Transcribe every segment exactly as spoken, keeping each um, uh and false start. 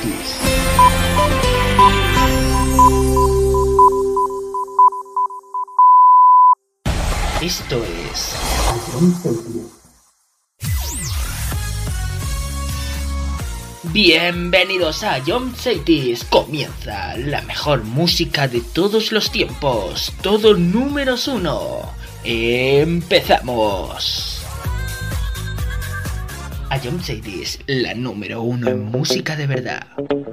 Cities. Esto es Ion Cities. Bienvenidos a Ion Cities. Comienza la mejor música de todos los tiempos. Todo números uno. Empezamos. Ion Cities, la número uno en música de verdad.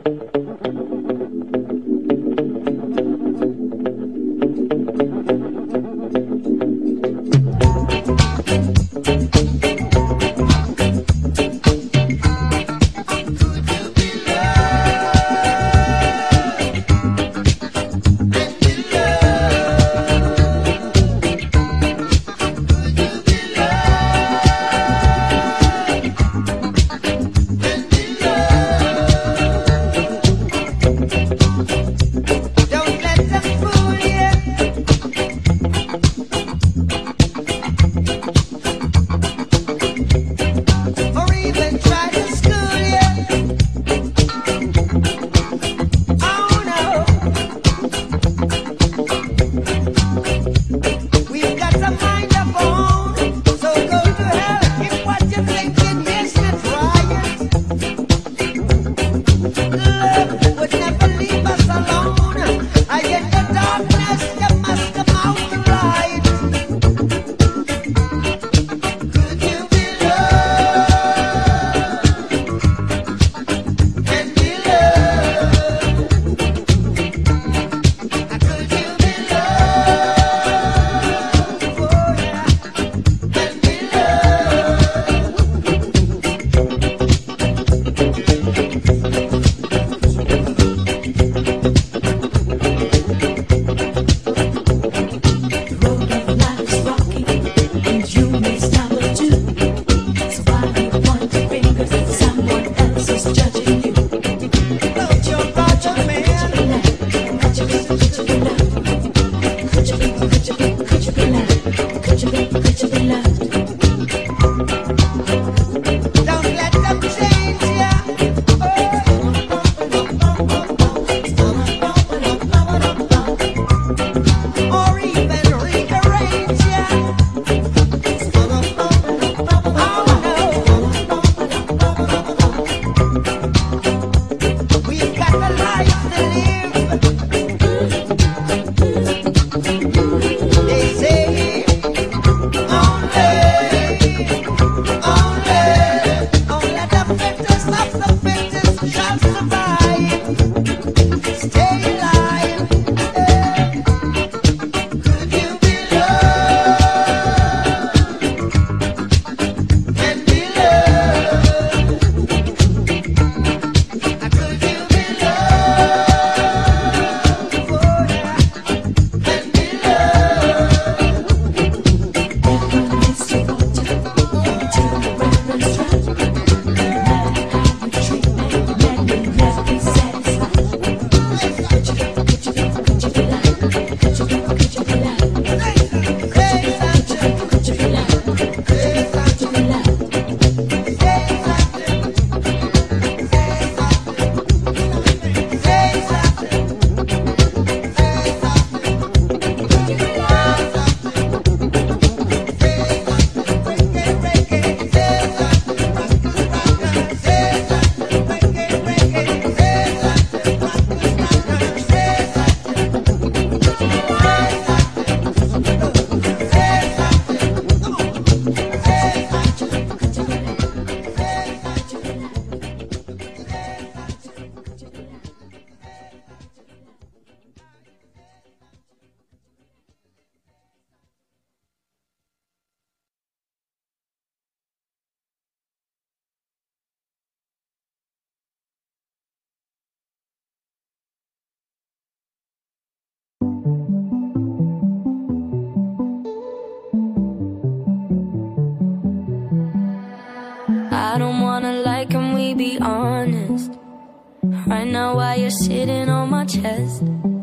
I don't wanna lie, can we be honest? Right now while you're sitting on my chest,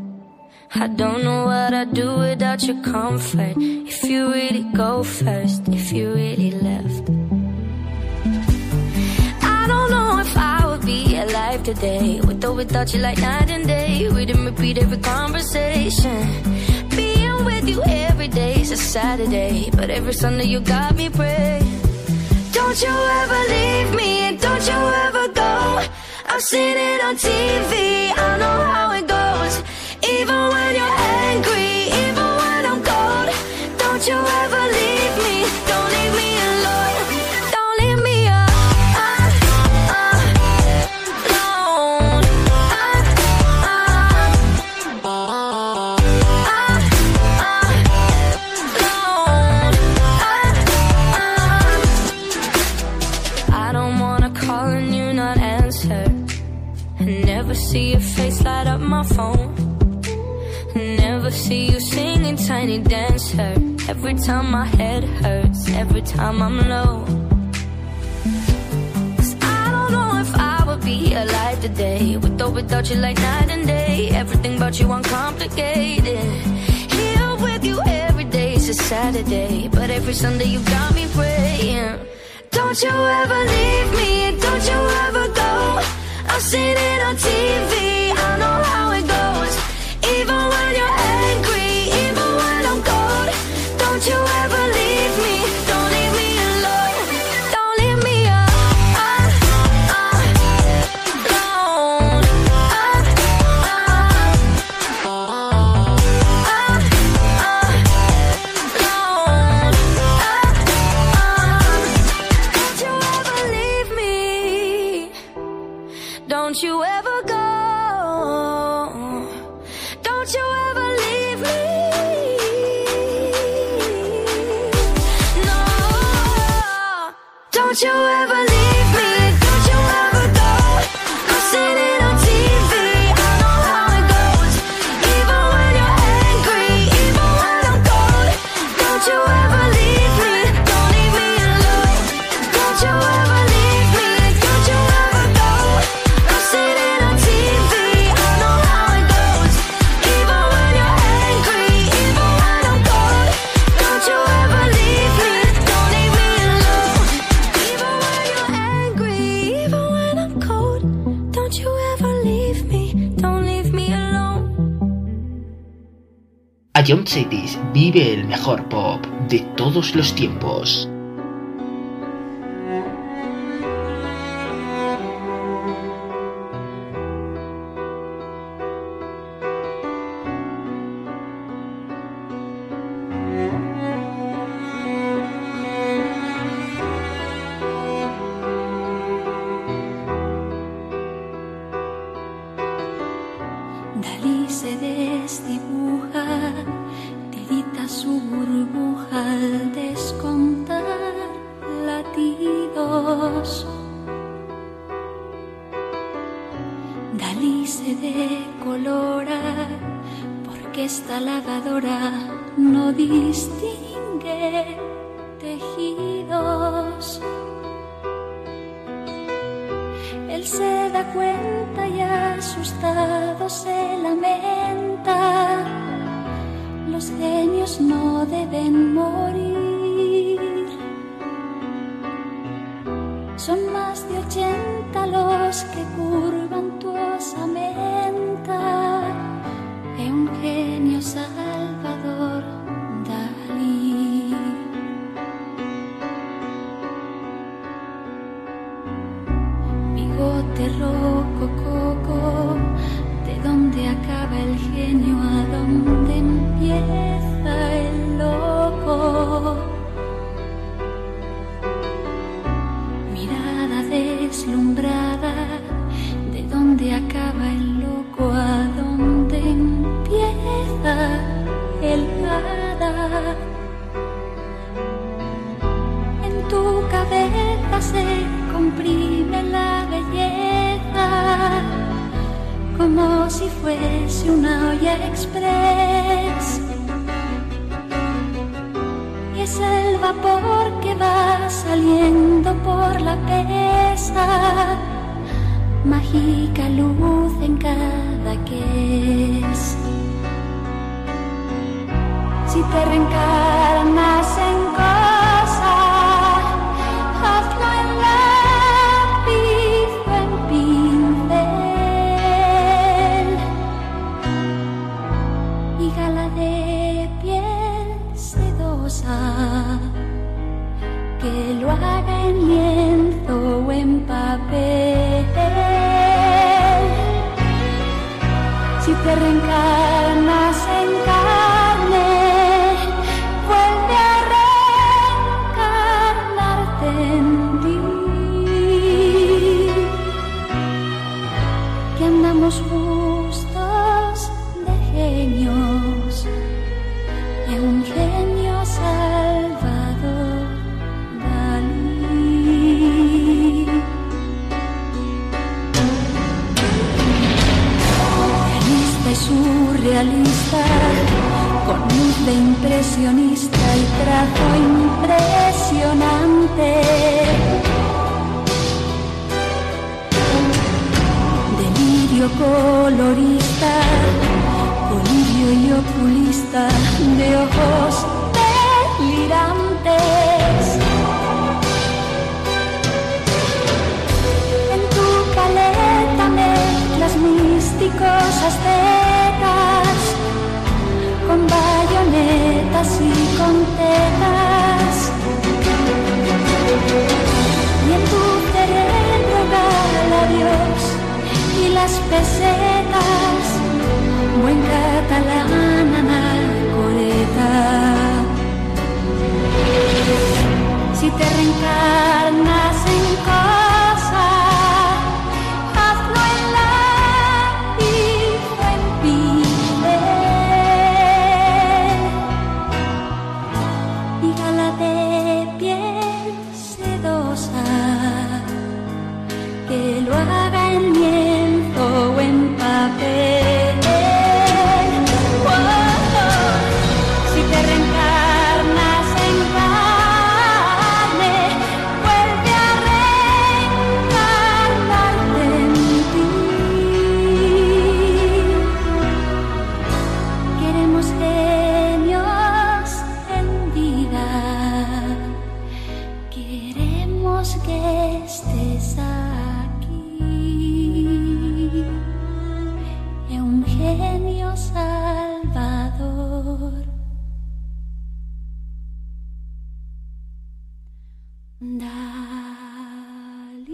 I don't know what I'd do without your comfort. If you really go first, if you really left, I don't know if I would be alive life today. With or without you like night and day. Read and repeat every conversation. Being with you every day is a Saturday, but every Sunday you got me praying. Don't you ever leave me and don't you ever go. I've seen it on T V, I know how it goes. Even when you're angry, even when I'm cold. Don't you ever leave me, don't leave me alone. Don't leave me alone. I don't wanna call and you not answer. Never see your face light up my phone. Never see you singing Tiny Dancer. Every time my head hurts, every time I'm low. 'Cause I don't know if I would be alive today. With or without you like night and day. Everything about you uncomplicated. Here with you every day is a Saturday, but every Sunday you got me praying. Don't you ever leave me and don't you ever go. I've seen it on T V, I know how it goes. Even when you're angry, even when I'm cold. Don't you ever leave me, don't leave me alone. Don't leave me alone. Don't you ever leave me. Don't you ever go. Don't you ever leave me. No. Don't you ever leave me. Don't you ever go. I've seen it on T V. I know how it goes. Even when you're angry, even when I'm cold. Don't you ever leave me. Don't leave me alone. Don't you ever leave me. Don't you ever go. I've seen it on T V. I know how it goes. Even when you're angry, even when I'm cold. Don't you ever leave me. Don't leave me alone. Even when you're angry, even when I'm cold. Don't you ever leave me. Don't leave me alone. Ion Cities vive el mejor pop de todos los tiempos. Dalí se desdibuja, tirita su burbuja al descontar latidos. Dalí se decolora porque esta lavadora no distingue tejidos. Él se da cuenta y asustado se lamenta. Los genios no deben morir. Son más de ochenta los que curvan tu osamenta. Eugenio Salvador Dalí. Bigote rocococo, ¿de dónde acaba el genio? ¿A dónde empieza el loco? Mirada deslumbrada, ¿de dónde acaba el loco? ¿A dónde empieza el hada? En tu cabeza se comprime la belleza, como si fuese una olla express. Y es el vapor que va saliendo por la pesa, mágica luz en cada que es. Si te reencarnas en cosa, hazlo en lápiz o en pincel. te reencarnas en carne, vuelve a reencarnarte en ti. Que andamos justos de genios, y un genio Salvador Dalí. Realista y surrealista, con luz de impresionista y trazo impresionante. Delirio colorista, colirio y oculista de ojos delirantes. En tu caleta mezclas místicos aztecas con bayonetas y con tetas. Y en tu cerebro gala Dios y las pesetas, buen catalán anacoreta. Si te reencarnas en cosa, hazlo en lápiz o en piel, y gala de piel sedosa, que lo haga en lienzo o en papel. Oh, oh. Si te reencarnas en carne, vuelve a reencarnarte en ti. Queremos genios en vida, queremos que estés aquí, es un genio Salvador Dalí.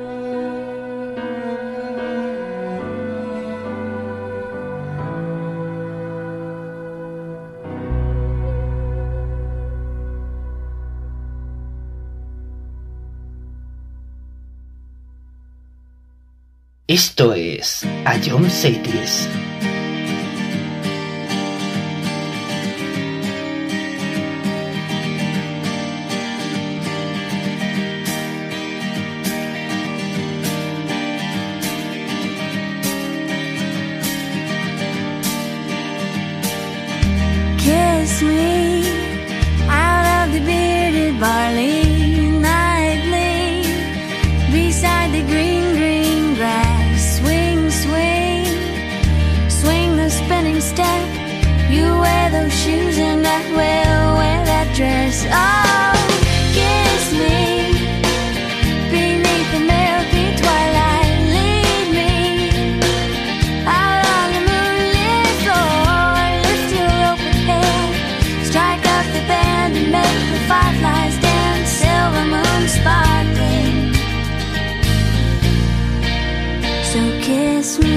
Esto es Ion Cities. Kiss me out of the bearded barley nightly, beside the green, green grass. Swing, swing, swing the spinning step. You wear those shoes and I will wear that dress. Oh, kiss me beneath the milky twilight. Lead me out on the moonlit floor. Lift your open head, strike up the band and make the fireflies dance. Silver moon sparkling, so kiss me.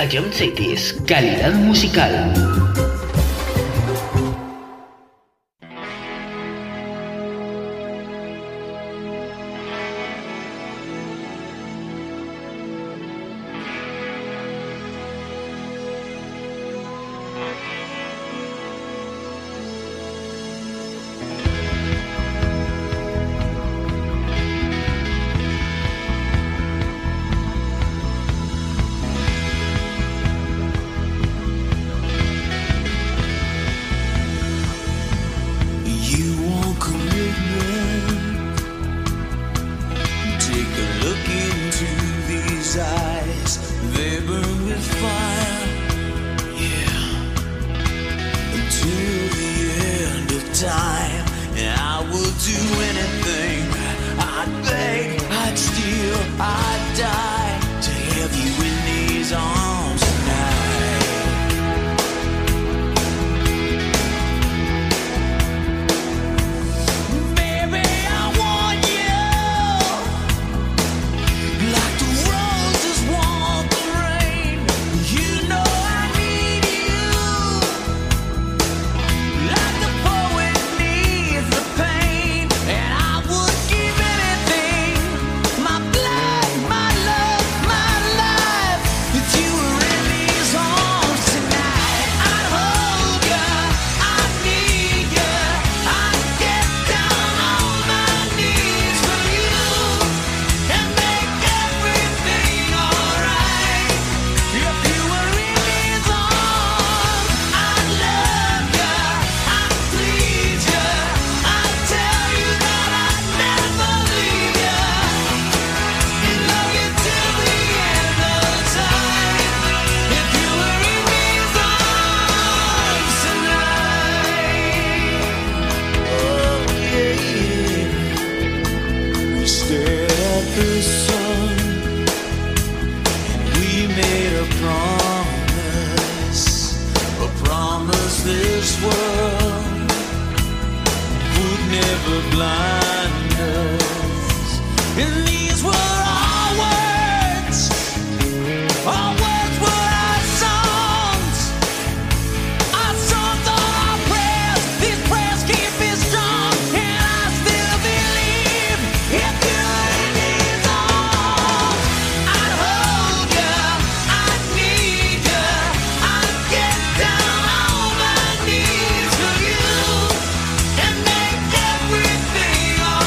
Sayom Cities, calidad musical. Everything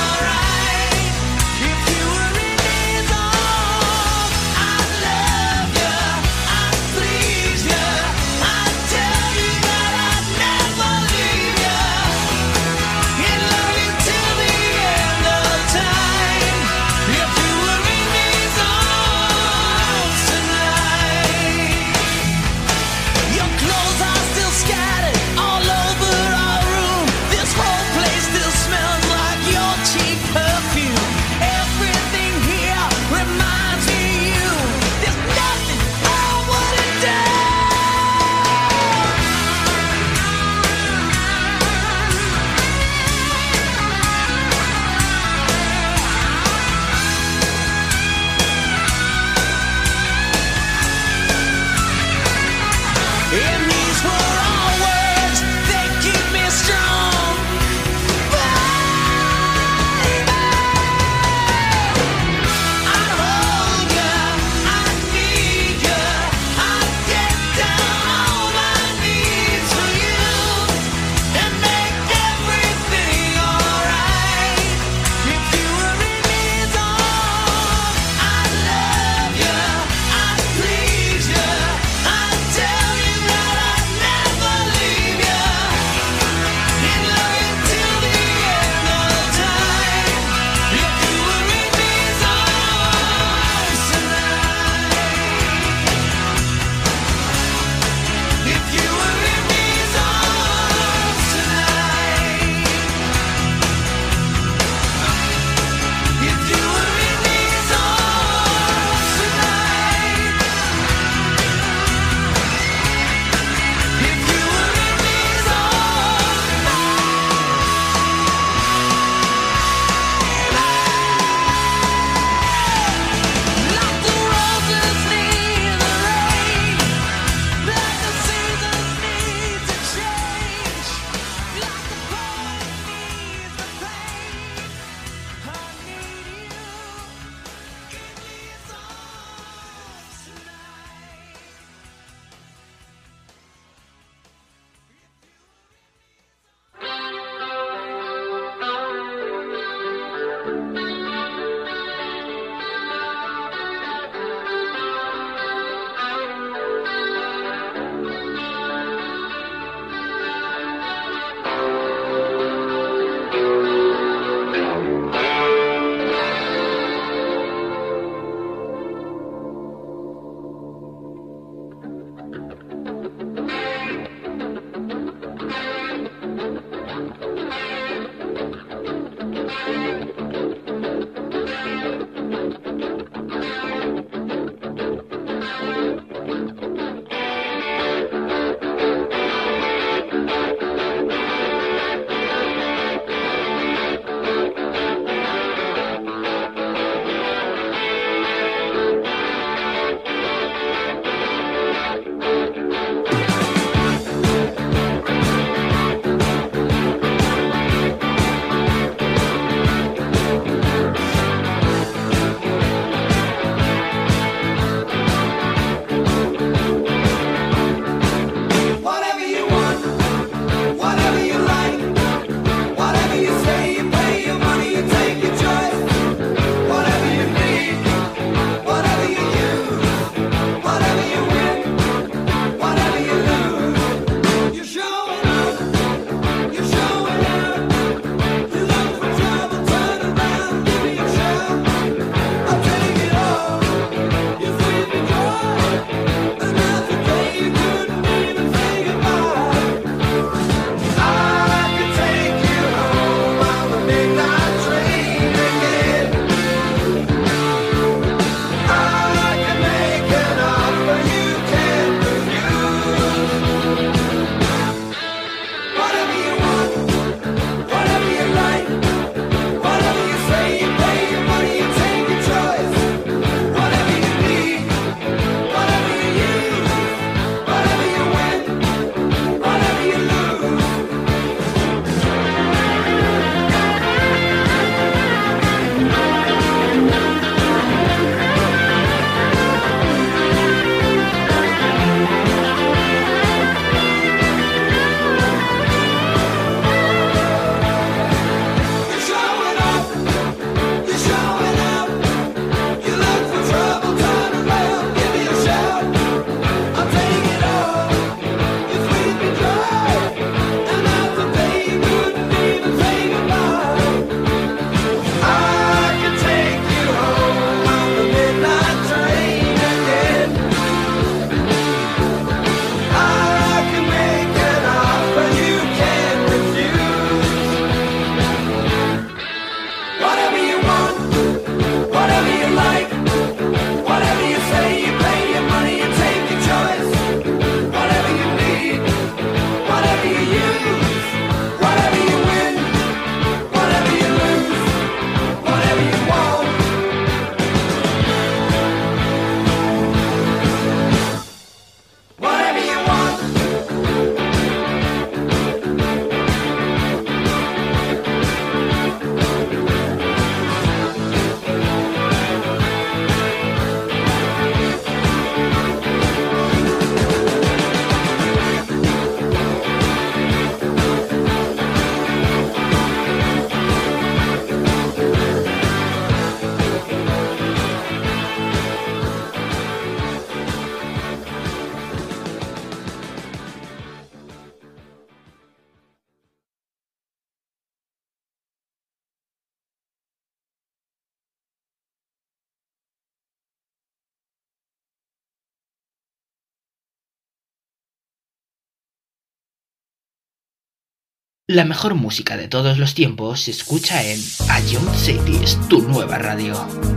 La mejor música de todos los tiempos se escucha en Ion Cities, tu nueva radio.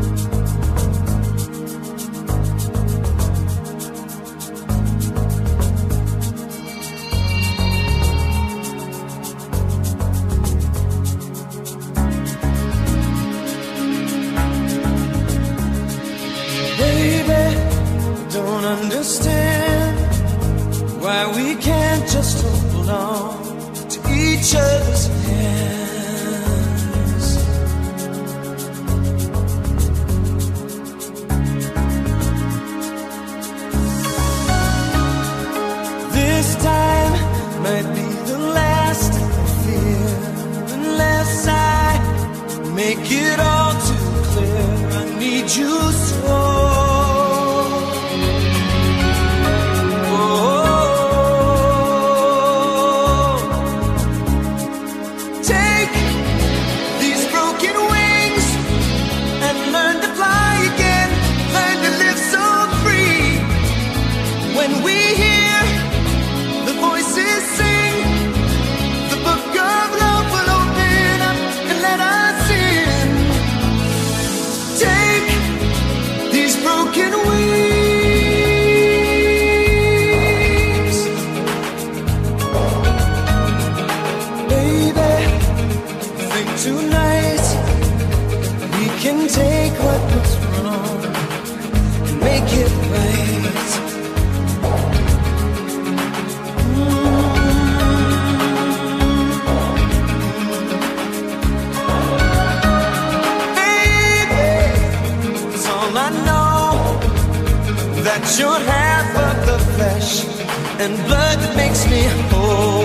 Baby, don't understand why we can't just hold on each other's hands. This time might be the last I fear, unless I make it all too clear. I need you so. Take what was wrong and make it right. Mm-hmm. Baby, it's all I know, that you're half of the flesh and blood that makes me whole.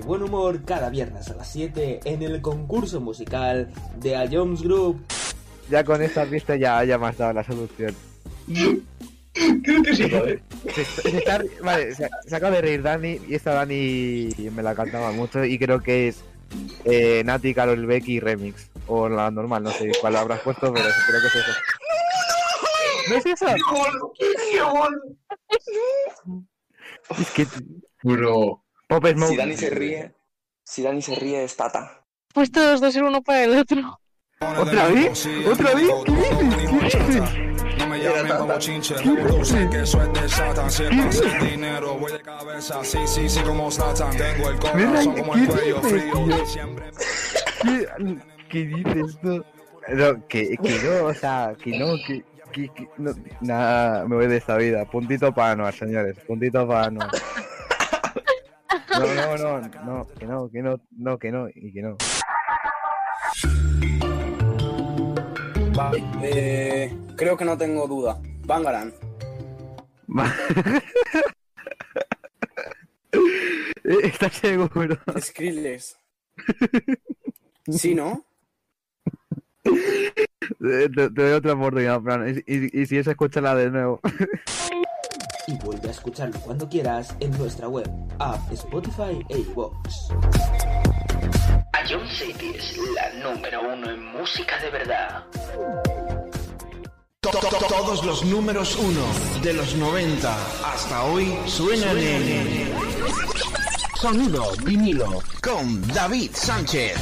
buen humor cada viernes a las siete en el concurso musical de A Jones Group. Ya con esta pista ya, ya me has dado la solución. Creo que sí, joder. Se, se está, vale, se, se acaba de reír Dani y esta Dani me la cantaba mucho y creo que es eh, Nati, Karol Becky Remix. O la normal, no sé cuál habrás puesto, pero creo que es eso. ¿No es eso? Es que... Bro. Pop Smoke. Si Dani se ríe, si Dani se ríe es Tata. Pues todos dos ser uno para el otro. ¿Otra vez? ¿Otra vez? ¿Qué dices? ¿Qué dices? No me llamen como chinche, sé que eso es de Satan. Si es pasa el dinero, voy de cabeza. Sí, sí, sí, como Satan. Tengo el corazón como el cuello frío. Siempre. ¿Qué, ¿Qué dices tú? No, que, que no, o sea, que no, que... que, que no, nada, me voy de esta vida. Puntito para Anuar, señores. Puntito para Anuar. No, no, no, no, que no, que no, no, que no, y que no. Vale, eh, creo que no tengo duda. Bangarang. ¿Estás seguro? Skrillex. ¿Sí, no? Te, te doy otra oportunidad, Fran. Y, y, y si es, escúchala de nuevo. Y vuelve a escucharlo cuando quieras en nuestra web, app, Spotify e iVoox. A John City es la número uno en música de verdad. Todos los números uno de los noventa hasta hoy suenan en Sonido Vinilo con David Sánchez.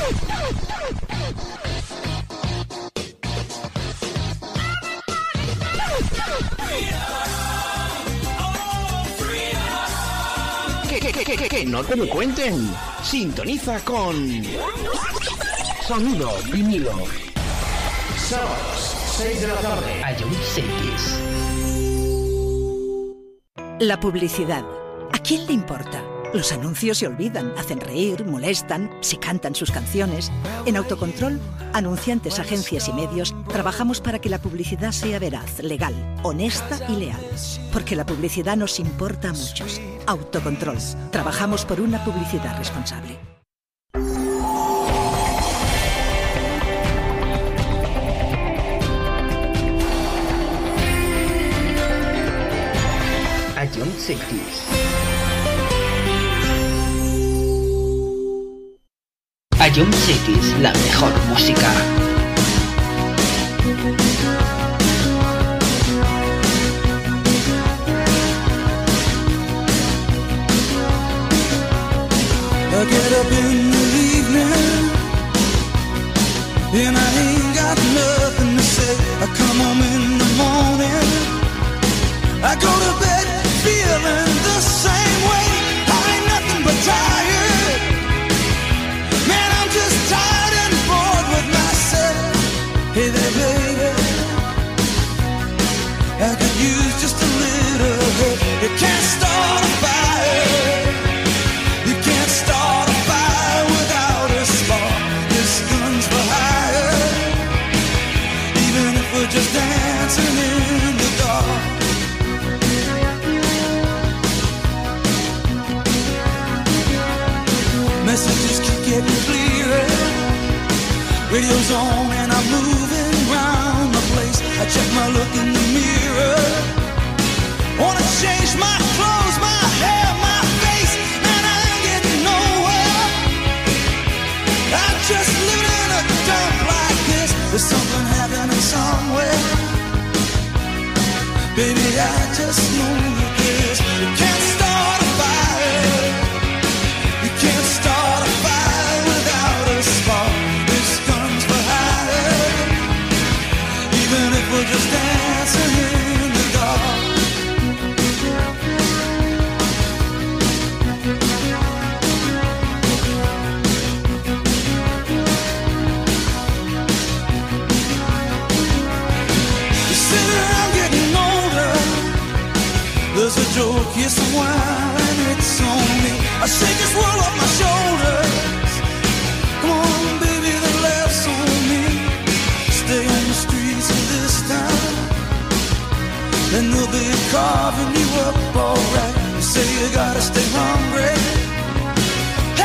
Que, que, que, que, que no te lo cuenten. Sintoniza con Sonido Vinilo. Sábados, seis de la tarde. A John Cities. La publicidad. ¿A quién le importa? Los anuncios se olvidan, hacen reír, molestan, se cantan sus canciones. En Autocontrol, anunciantes, agencias y medios, trabajamos para que la publicidad sea veraz, legal, honesta y leal. Porque la publicidad nos importa a muchos. Autocontrol. Trabajamos por una publicidad responsable. A John Cities. A John Cities, la mejor música. I get up in the evening and I ain't got nothing to say. I come home in the morning, I go to bed feeling the same way. I ain't nothing but tired. Man, I'm just tired and bored with myself. Hey there, baby, I could use just a little help. You can't start a fire. You can't start a fire without a spark. This gun's for hire. Even if we're just dancing in the dark. Messages keep getting clearer. Radio's on and I'm moving round the place. I check my look in the mirror. Wanna change my clothes, my hair, my face, and I ain't getting nowhere. I'm just living in a dump like this. There's something happening somewhere. Baby, I just know that this. You can't start a fire. You can't start a fire without a spark. This gun's for hire. Even if we're just dancing in the dark. You sit around getting older. There's a joke, yes, a while, and it's on me. I shake this world off my shoulders. Come on, baby, the laughs on me. Stay on the streets of this town, and they'll be carving you up alright. You say you gotta stay hungry.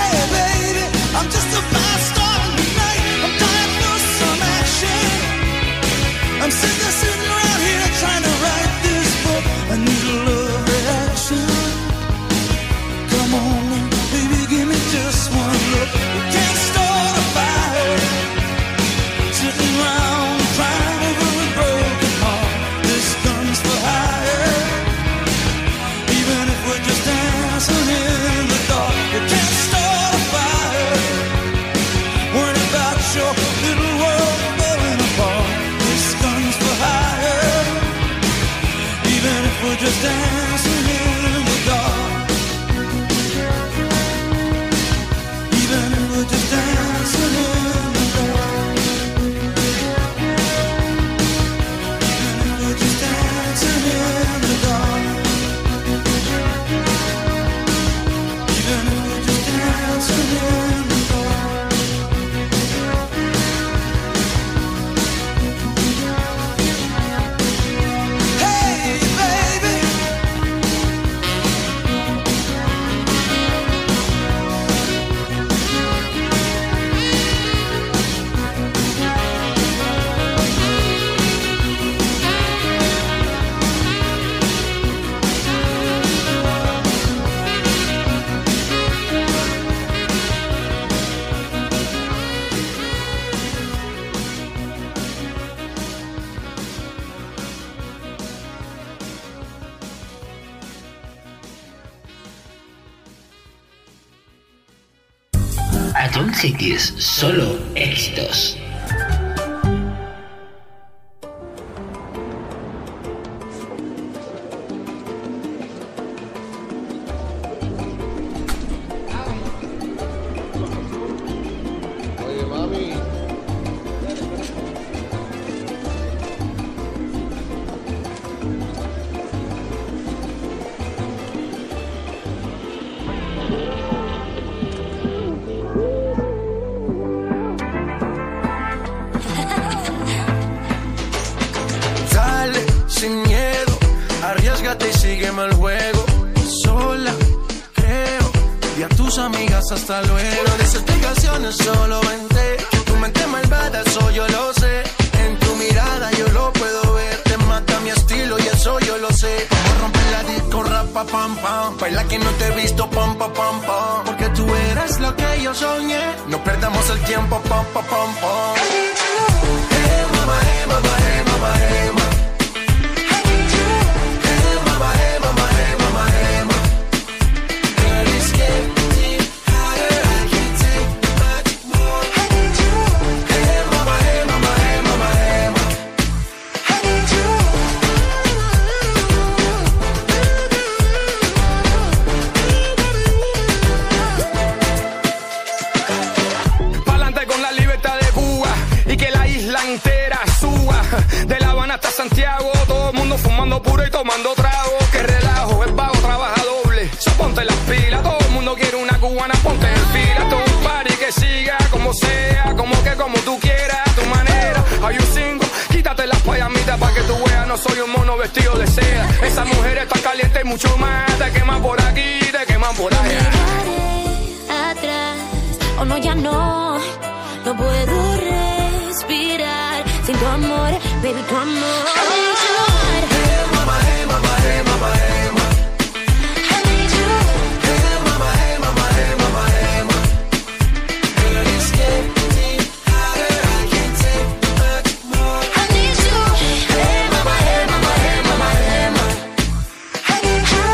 I'm just a fast star in the night. I'm dying for some action. I'm sick of sitting around here trying to write this book. I need a love reaction. Come on, baby, give me just one look. We can't start a fire sitting around crying over a broken heart. This gun's for hire. Even if we're just dancing in the dark, we can't start a fire worrying about your little world falling apart. This gun's for hire. Even if we're just dancing in the dark. Even if we're just dancing in the dark. Even if we're just dancing in the dark. Even if we're just dancing in the dark. Hey, baby. Ion Cities, solo éxitos. Oye, mami. Dale, sin miedo, arriésgate y sígueme el juego. Sola, creo, y a tus amigas hasta luego. No des explicaciones, solo vente. Que tu mente malvada, eso yo lo sé. En tu mirada yo lo puedo ver. Te mata mi estilo y eso yo lo sé. Vamos a romper la disco, rapa, pam, pam. Baila que no te he visto, pam, pam, pam, pam. Porque tú eres lo que yo soñé. No perdamos el tiempo, pam, pam, pam, pam. Hey, mama, hey, mama, hey, mama, hey, mama. Hasta Santiago, todo el mundo fumando puro y tomando trago. Que relajo, es vago, trabaja doble. So ponte las pilas, todo el mundo quiere una cubana, ponte en fila. Todo un party que siga, como sea, como que como tú quieras, a tu manera. Are you single? Quítate las payamitas pa' que tú veas, no soy un mono vestido de seda. Esa mujer está caliente y mucho más. Te queman por aquí, te queman por allá. Atrás, o no, ya no, no puedo respirar sin tu amor, baby, tu amor. Hey, mama, hey, mama, hey, mama, hey, mama. I need you. Hey, mama, hey, mama, hey, mama, hey, mama. Girl, it's getting hotter, I can't take much more. I need you. Hey, mama, hey, mama, hey, mama, hey, mama. I need you.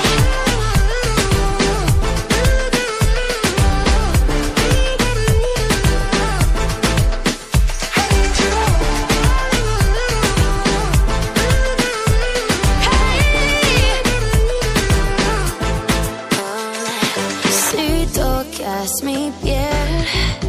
Mi piel,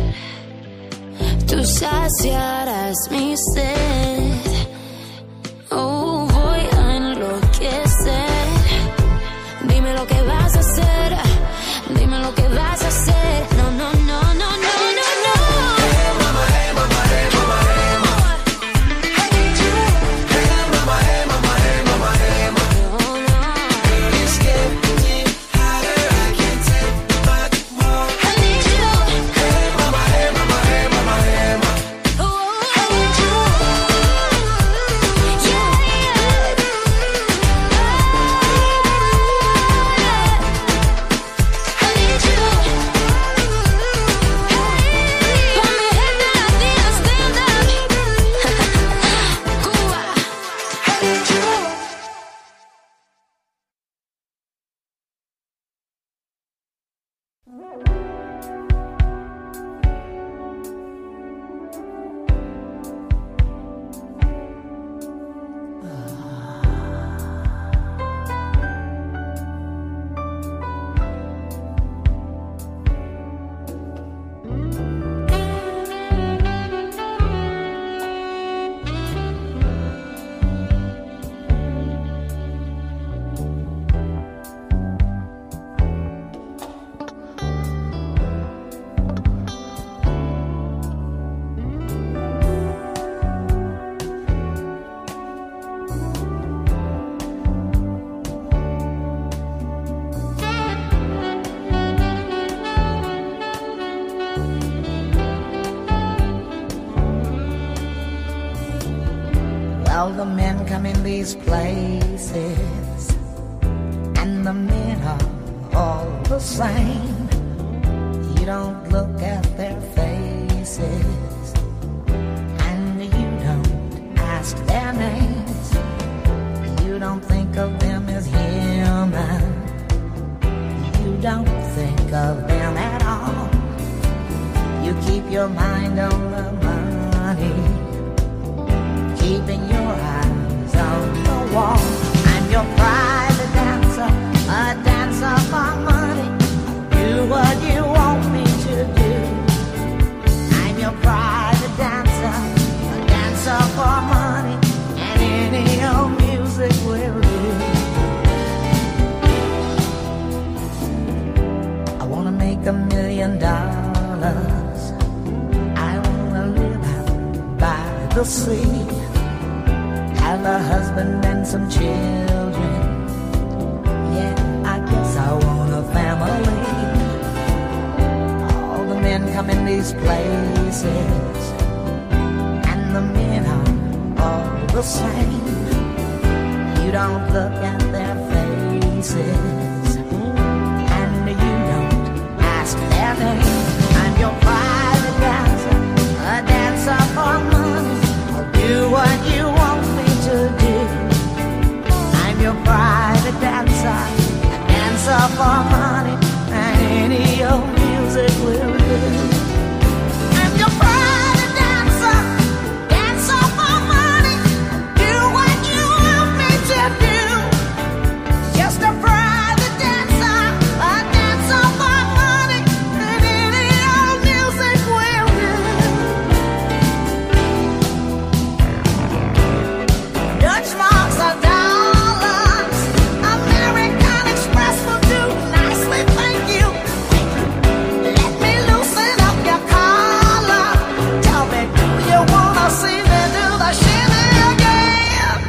tú saciarás mi sed. Oh, voy a enloquecer. Dime lo que vas a hacer. Dime lo que vas a hacer. No, no, no, no, no, no, no. Hey, mama, hey, mama, hey, mama, hey, mama. Hey, mama, hey, mama, hey, mama, hey, mama. No, no. Girl, it's getting hotter, I can't take much more. I need you. Hey, All the men come in these places, and the men are all the same. You don't look at their faces, and you don't ask their names. You don't think of them as human. You don't think of them at all. You keep your mind on the money, keeping your eyes on the wall. I'm your private dancer, a dancer for money. Do what you want me to do. I'm your private dancer, a dancer for money, and any old music will do. I wanna make a million dollars. I wanna live out by the sea, have a husband and some children. Yeah, I guess I want a family. All the men come in these places, and the men are all the same. You don't look at their faces, and you don't ask their name. I'm your private dancer, a dancer for money. I'll do what you want me to do. I'm your private dancer, a dancer for money, and any old music will do. I'm your private dancer, dancer for money. Do what you want me to do. Just a private dancer, a dancer for money, and any old music will do. Dutch marks are dollars, American Express will do nicely, thank you. Let me loosen up your collar. Tell me, do you wanna see me do the shimmy again?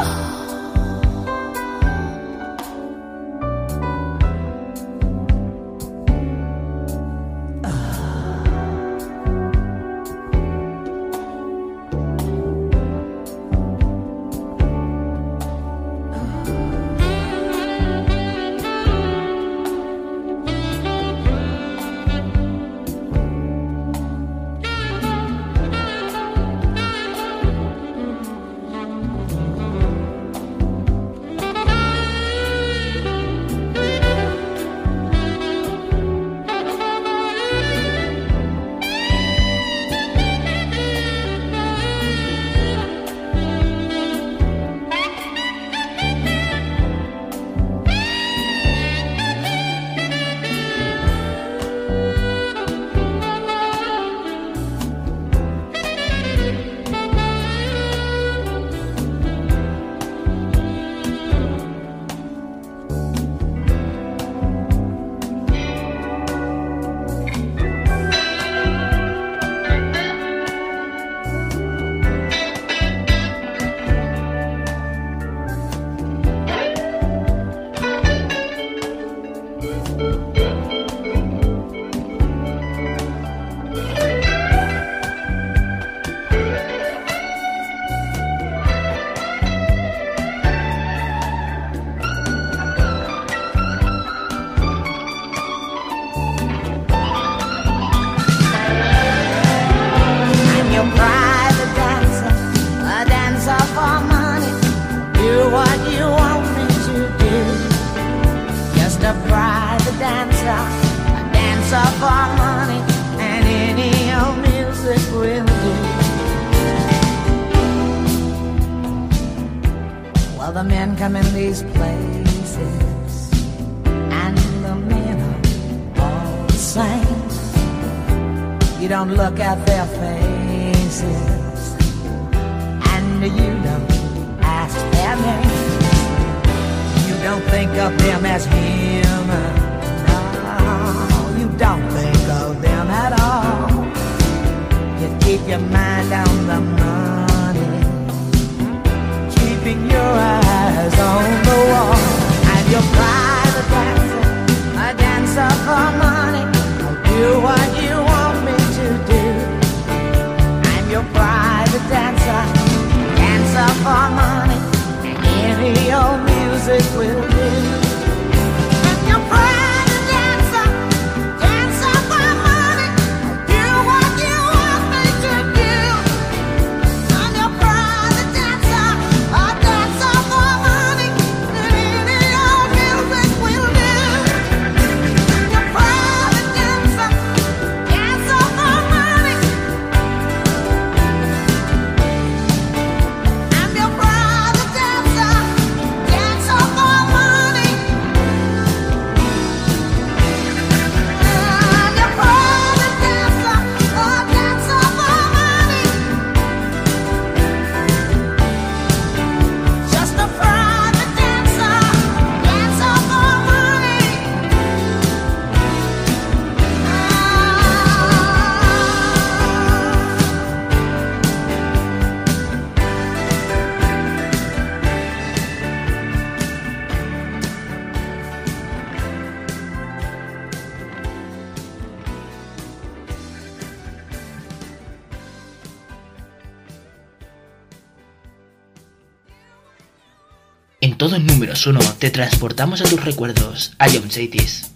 I'm your private dancer, a dancer for money. Do what you want me to do. Just a private dancer, a dancer for money, and any old music will do. Well, the men come in these places, and the men are all the same. You don't look at their faces, and you don't ask their name. You don't think of them as human. No, you don't think of them at all. You keep your mind on the money, keeping your eyes on the wall. I'm your private dancer, a dancer for money. I'll do what you want me to do. I'm your private dancer, dancer for money. En todo números uno te transportamos a tus recuerdos, a Jump Cities.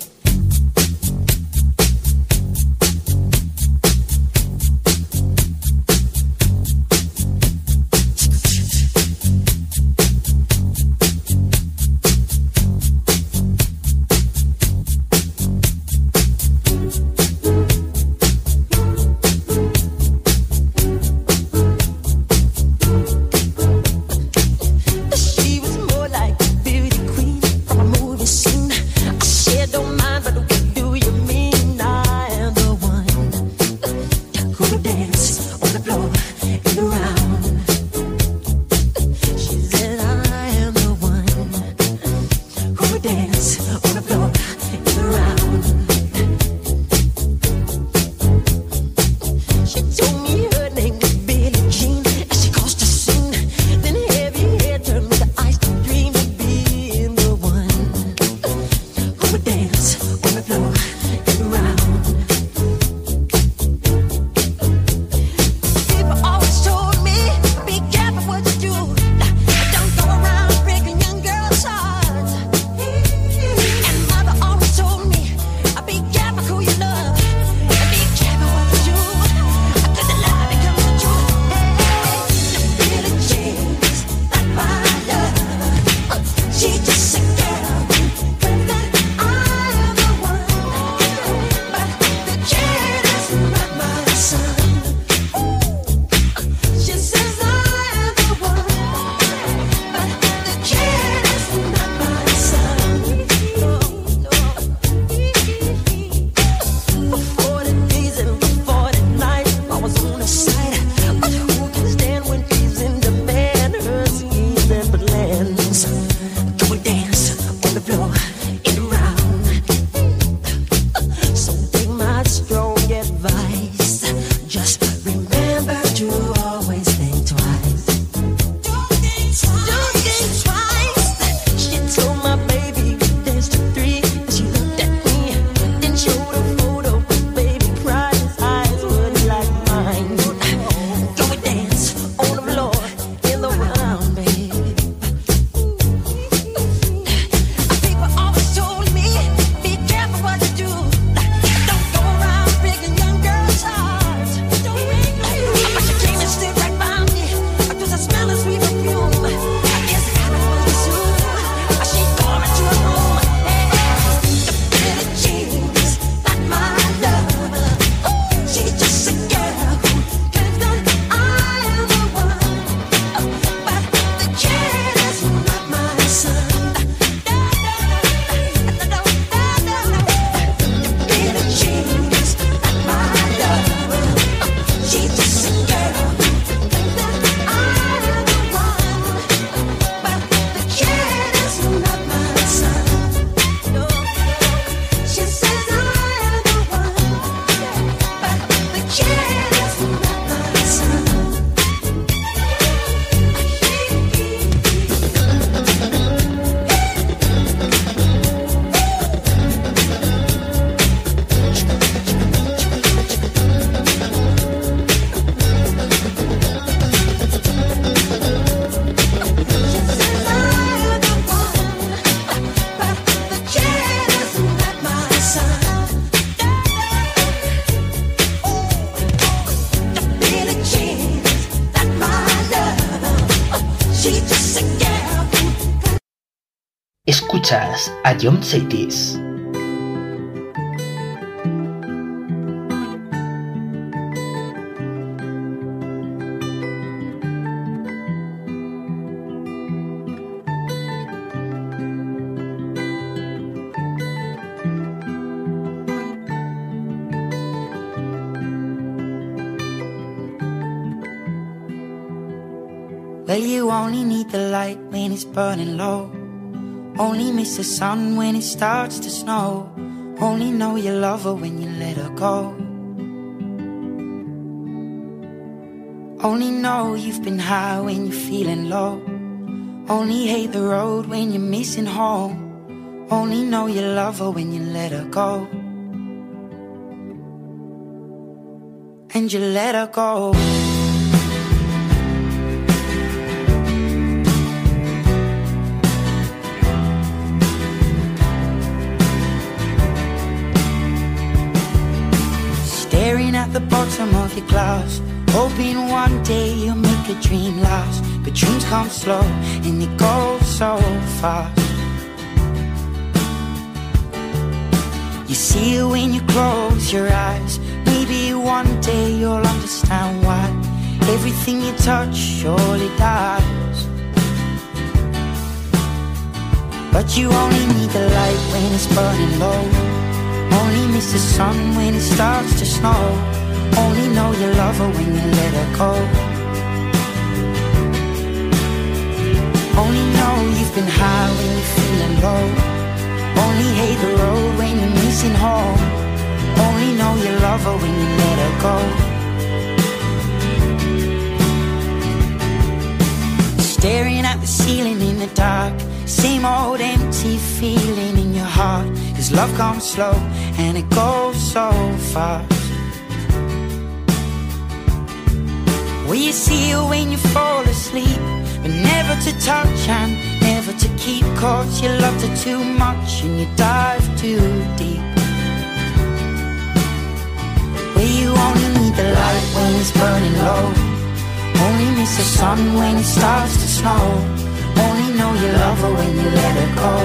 Escuchas a Jump Cities. Well, you only need the light when it's burning low. Only miss the sun when it starts to snow. Only know you love her when you let her go. Only know you've been high when you're feeling low. Only hate the road when you're missing home. Only know you love her when you let her go. And you let her go. the bottom of your glass, hoping one day you'll make a dream last. But dreams come slow and they go so fast. You see it when you close your eyes. Maybe one day you'll understand why everything you touch surely dies. But you only need the light when it's burning low. Only miss the sun when it starts to snow. Only know you love her when you let her go. Only know you've been high when you're feeling low. Only hate the road when you're missing home. Only know you love her when you let her go. Staring at the ceiling in the dark, same old empty feeling in your heart. Cause love comes slow and it goes so fast. Will you see her when you fall asleep, but never to touch and never to keep? Cause you loved her too much and you dive too deep. Where you only need the light when it's burning low. Only miss the sun when it starts to snow. Only know you love her when you let her go.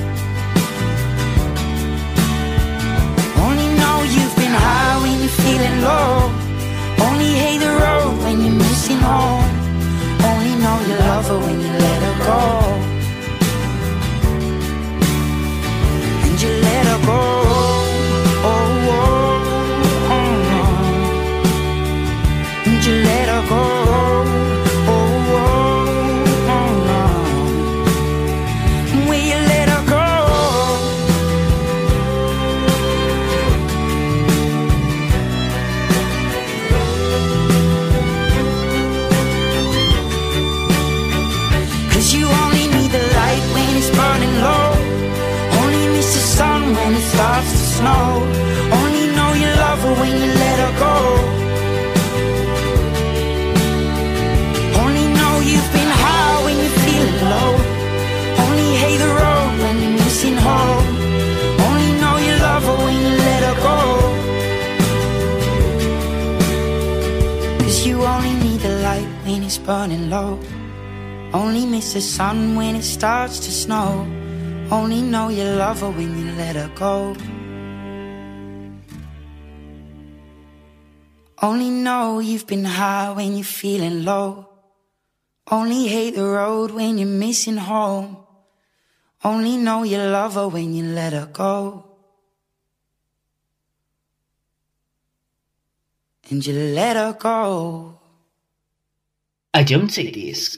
Only know you've been high when you're feeling low. Only hate the road when you're missing home. Only know you love her when you let her go. And you let her go. Oh, oh, oh, oh. And you let her go. Starts to snow. Only know you love her when you let her go. Only know you've been high when you're feeling low. Only hate the road when you're missing home. Only know you love her when you let her go. Cause you only need the light when it's burning low. Only miss the sun when it starts to snow. Only know you love her when you let her go. Only know you've been high when you're feeling low. Only hate the road when you're missing home. Only know you love her when you let her go. And you let her go. I don't say this.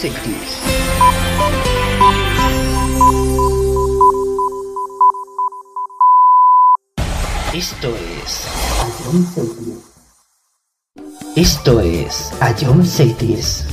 Seitis. Esto es Esto es Ion Seitis.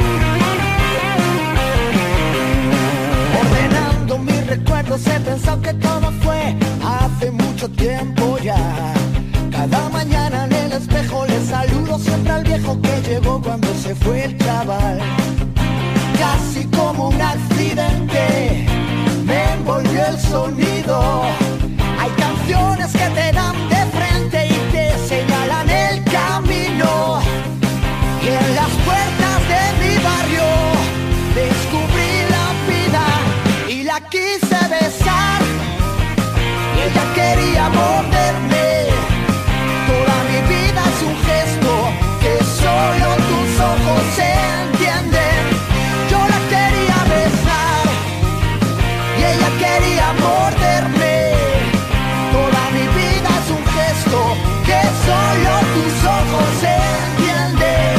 He pensado que todo fue hace mucho tiempo ya. Cada mañana en el espejo le saludo siempre al viejo que llegó cuando se fue el chaval. Casi como un accidente me envolvió el sonido. Hay canciones que te dan de frente y te señalan el camino. Y en las puertas de mi barrio descubrí la vida y la quise besar. Y ella quería morderme. Toda mi vida es un gesto que solo tus ojos entienden. Yo la quería besar y ella quería morderme. Toda mi vida es un gesto que solo tus ojos entienden.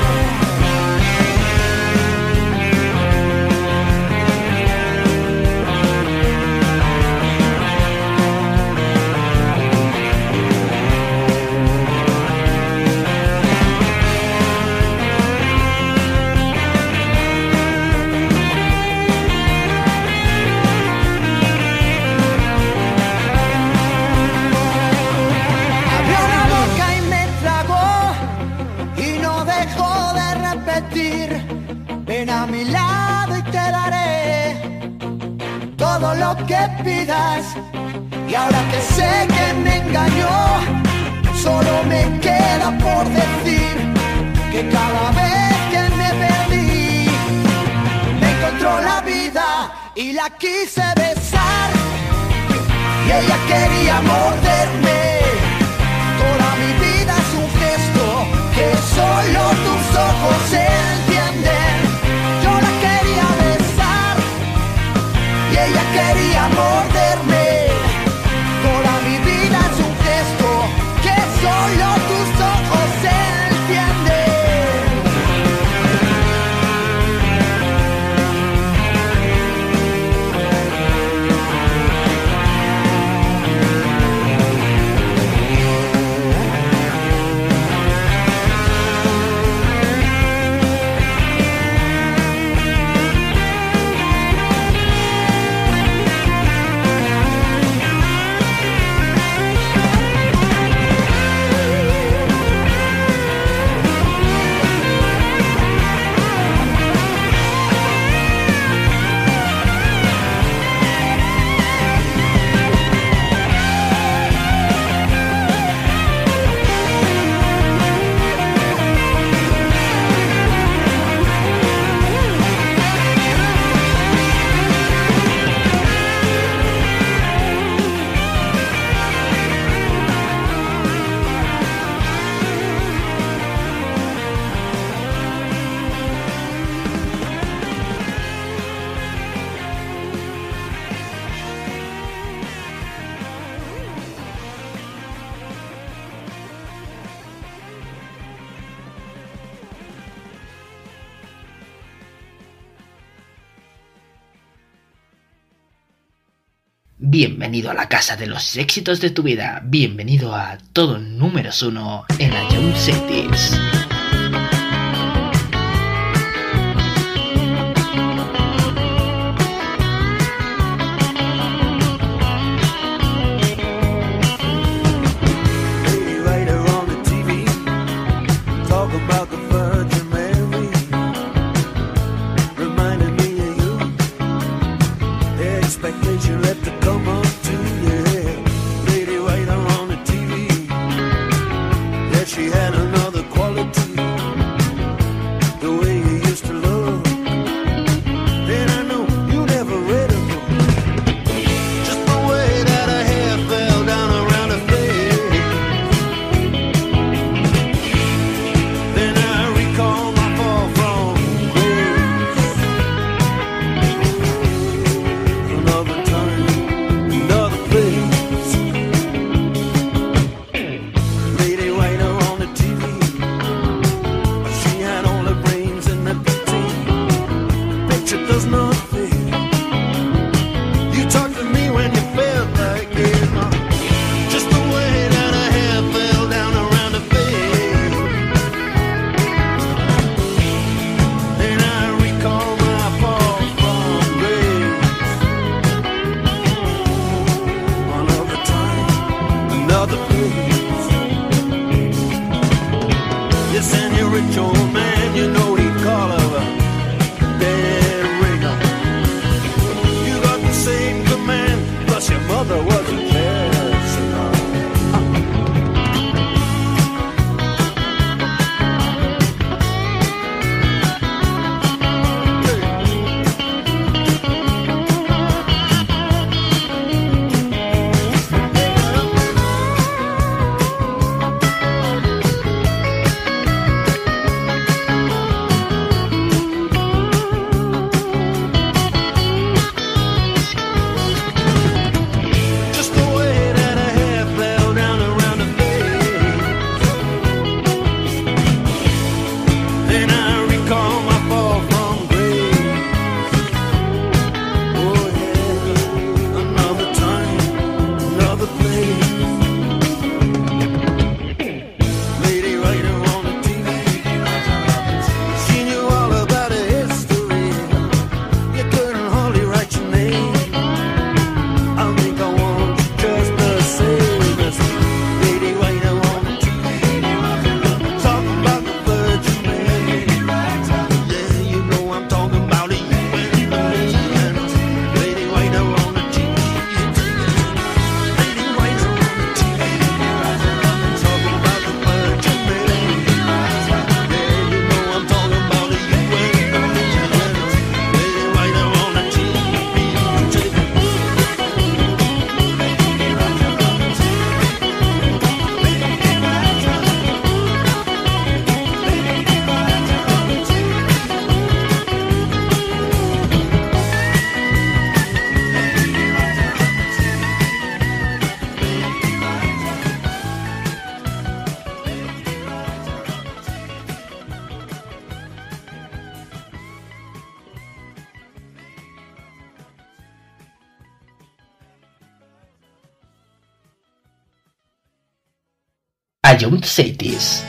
Ven a mi lado y te daré todo lo que pidas. Y ahora que sé que me engañó, solo me queda por decir que cada vez que me perdí, me encontró la vida y la quise besar. Y ella quería morderme. Toda mi vida es un gesto que solo tus ojos entienden. Yo la quería besar y ella quería morderme. Toda mi vida es un gesto que solo tus ojos entienden. Bienvenido a la casa de los éxitos de tu vida. Bienvenido a todo números uno en la Jump Cities. She had another quality. another place. Yes, and you're a rich old man, you know he'd call her a dead ringer. You got the same command, plus your mother was a jazz singer. Jump Cities.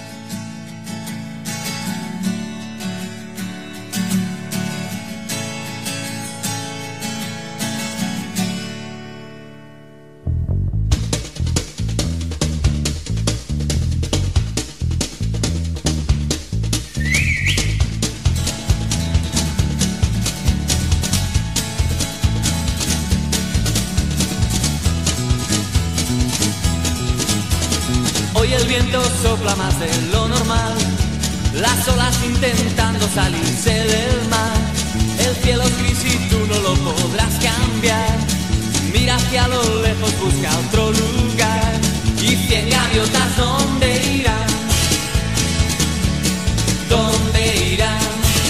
Hoy el viento sopla más de lo normal, las olas intentando salirse del mar. El cielo es gris y tú no lo podrás cambiar. Mira hacia lo lejos, busca otro lugar. Y cien gaviotas, ¿dónde irán? ¿Dónde irán?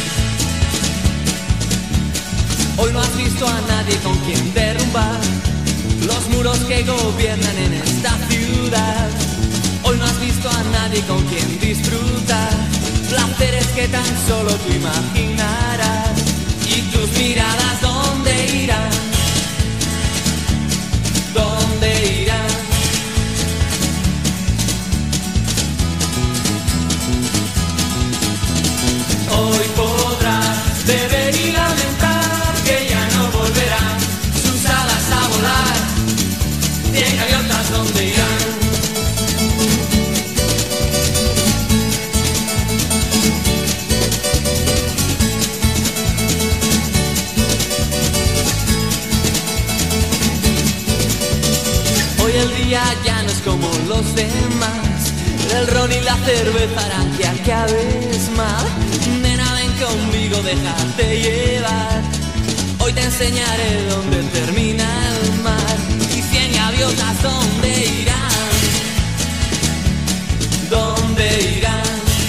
Hoy no has visto a nadie con quien derrumbar los muros que gobiernan en esta ciudad. Hoy no has visto a nadie con quien disfrutar placeres que tan solo tú imaginarás. Y tus miradas, ¿dónde irán? ¿Dónde irán? Hoy podrás beber y lamentar que ya no volverán sus alas a volar. Cien gaviotas, ¿dónde irán? Hoy el día ya no es como los demás. El ron y la cerveza harán que acabes mal. Nena, ven conmigo, déjate llevar. Hoy te enseñaré dónde termina el mar. Y cien gaviotas, ¿dónde irán? ¿Dónde irán?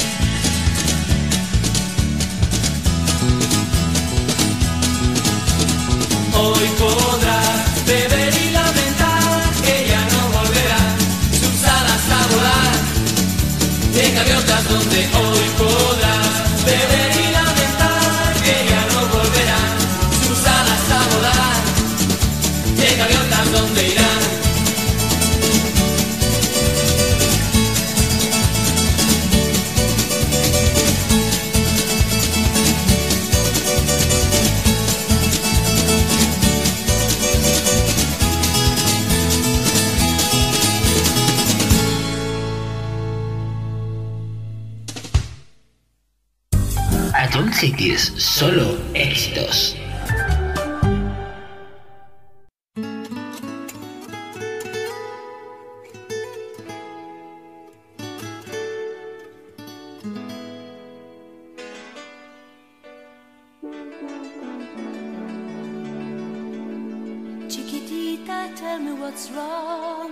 Hoy podrás beber y lamentar que ya no volverán sus alas a volar. Cien gaviotas, donde hoy podrás beber y lamentar que ya no volverán sus alas a volar. Cien gaviotas, ¿dónde irán? Cities, solo éxitos. Chiquitita, tell me what's wrong.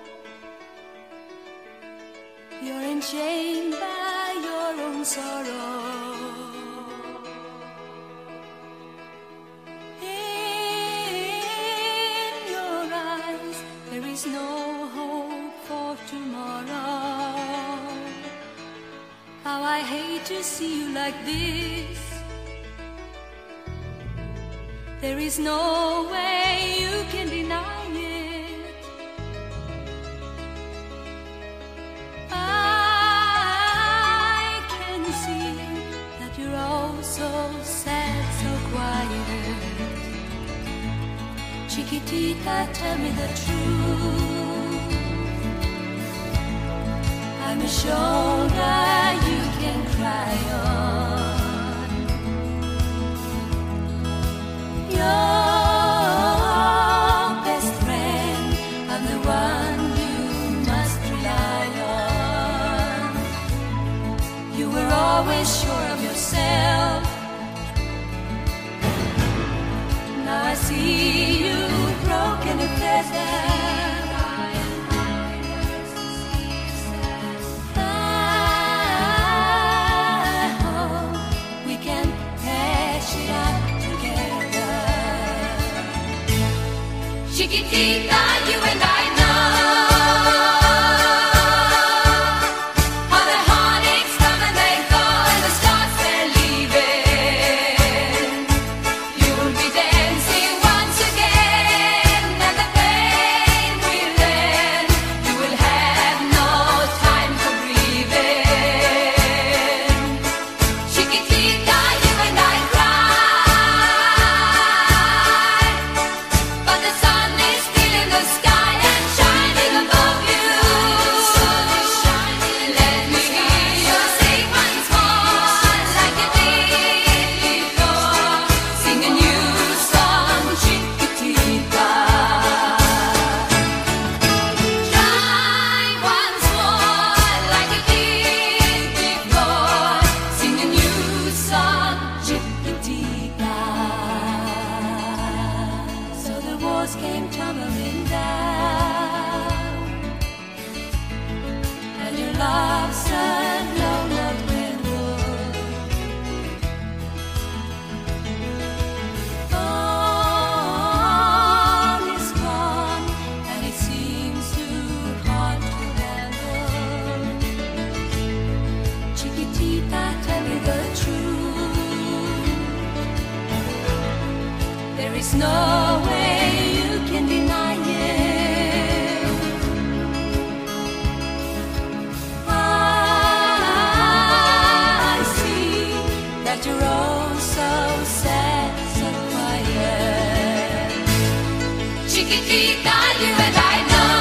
You're enchained by your own sorrow. In your eyes, there is no hope for tomorrow. How I hate to see you like this. There is no way you can deny it. I can see that you're all so sad, so quiet. Chiquitita, tell me the truth. I'm a shoulder you can cry on. Your best friend, I'm the one you must rely on. You were always sure of yourself. Now I see you broken and feathered. I hope we can patch it up. Chiquitita, you and I know how the heartaches come and they go and the stars they're leaving. You'll be dancing once again and the pain will end. You will have no time for grieving. Chiquitita, you and I cry, but the sun is still in the sky and shining above you. Let me hear you sing once more like you did before. Sing a new song, Chiquitita. Try once more like you did before. Sing a new song, Chiquitita. So the walls came tumbling down, and your love said no, not redwood. All is gone, and it seems too hard to handle. Chiquitita, tell me the truth. There is no way you can deny it. I see that you're all so sad, so quiet. Chiquitita, you and I know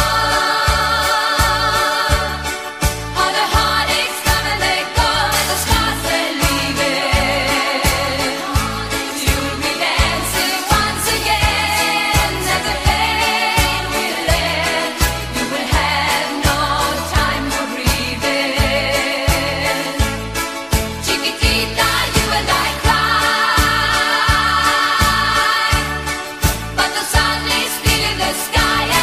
how the heartaches come and they go and the stars they're leaving. You'll be dancing once again and the pain will end. You will have no time for grieving. Chiquitita, you and I cry, but the sun is still in the sky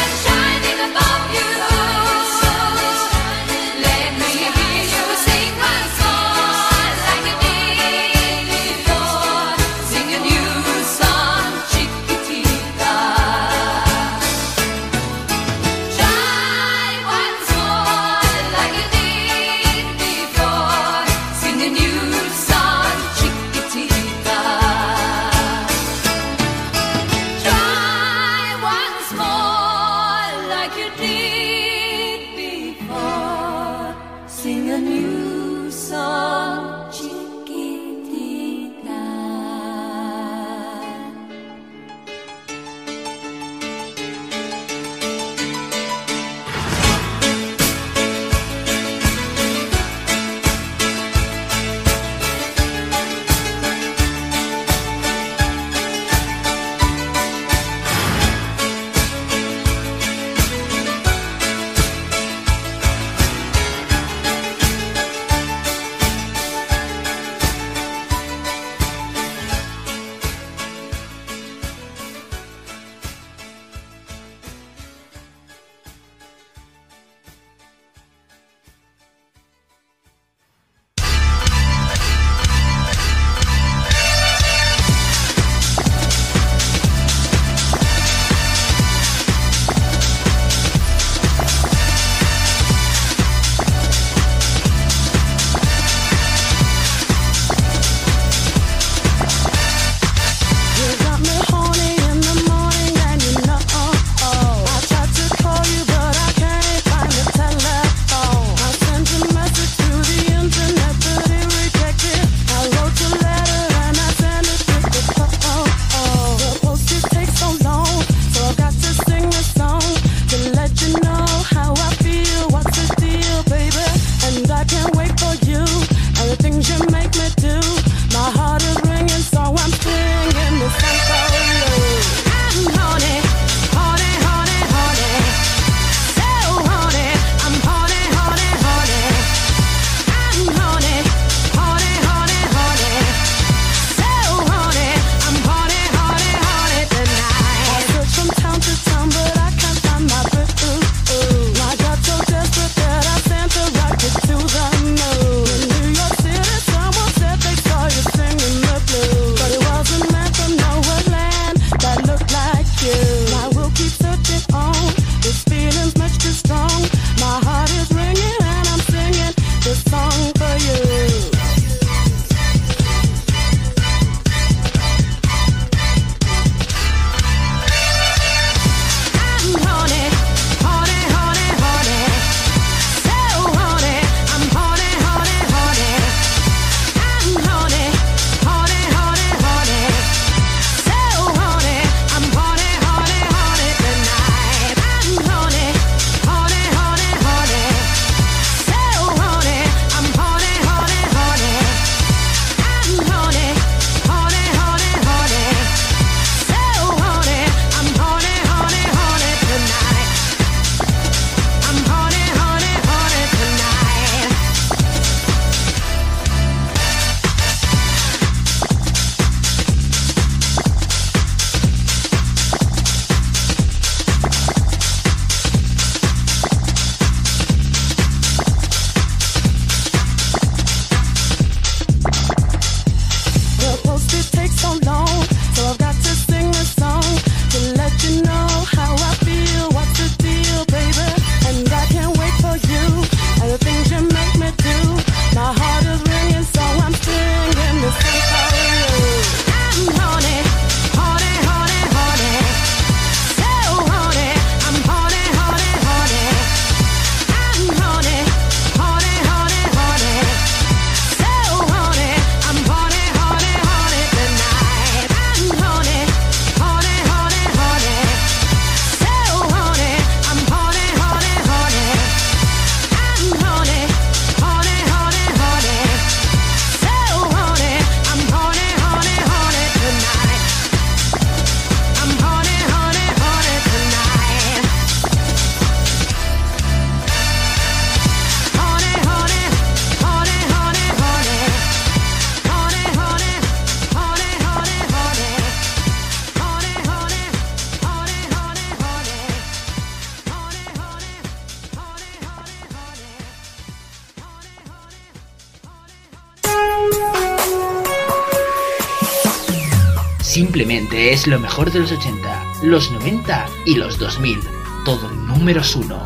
Simplemente es lo mejor de los ochenta, los noventa y los dos mil. Todo números uno.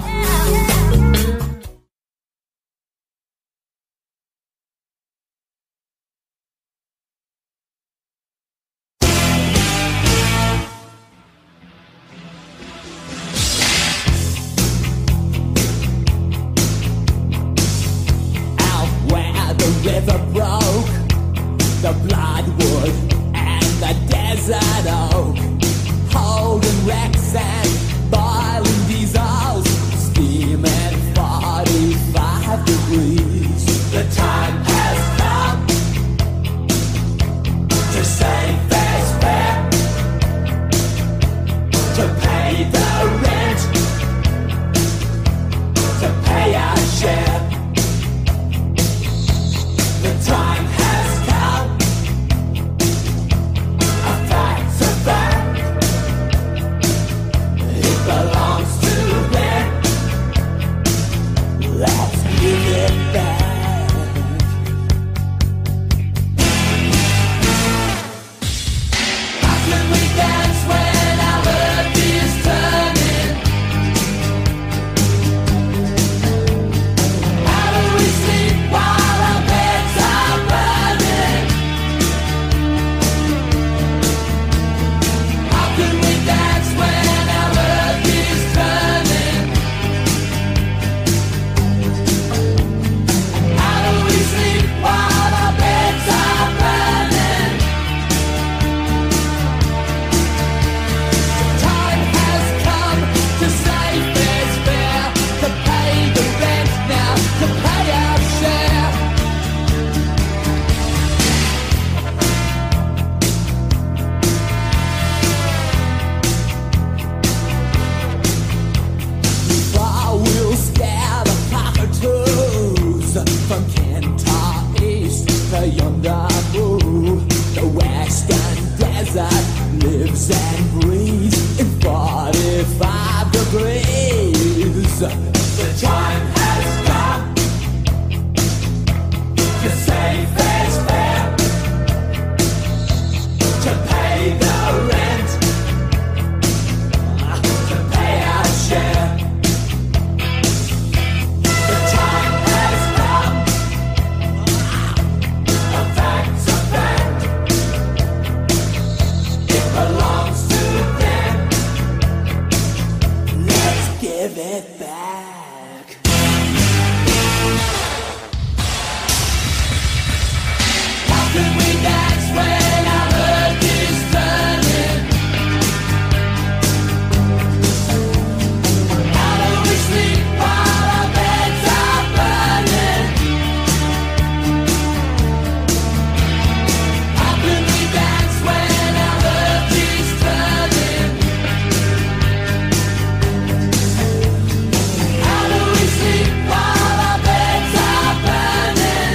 River broke, the bloodwood and the desert oak, holding wrecks and boiling diesels, steaming forty-five degrees. The time has come to save fair's fare, to pay the rent, to pay our share. The time has come. A fact's a fact. It belongs to them. Let's give it back. How can we dance when our earth is turning? How do we sleep while our beds are burning? How can we dance when our earth is turning? How do we sleep while our beds are burning? Time has come to save fair's fair, to pay the rent now, to pay our share. Far we'll scare the cockatoos from Kentar East to yonder blue. The western desert lives and breathes in forty-five degrees. The time has come to save fair's fair, to pay the rent, to pay our share. The time has come. A fact's a fact. It belongs to them. Let's give it back. How can we dance when our earth is turning? How do we sleep while our beds are burning? How can we dance when our earth is turning? How do we sleep while our beds are burning?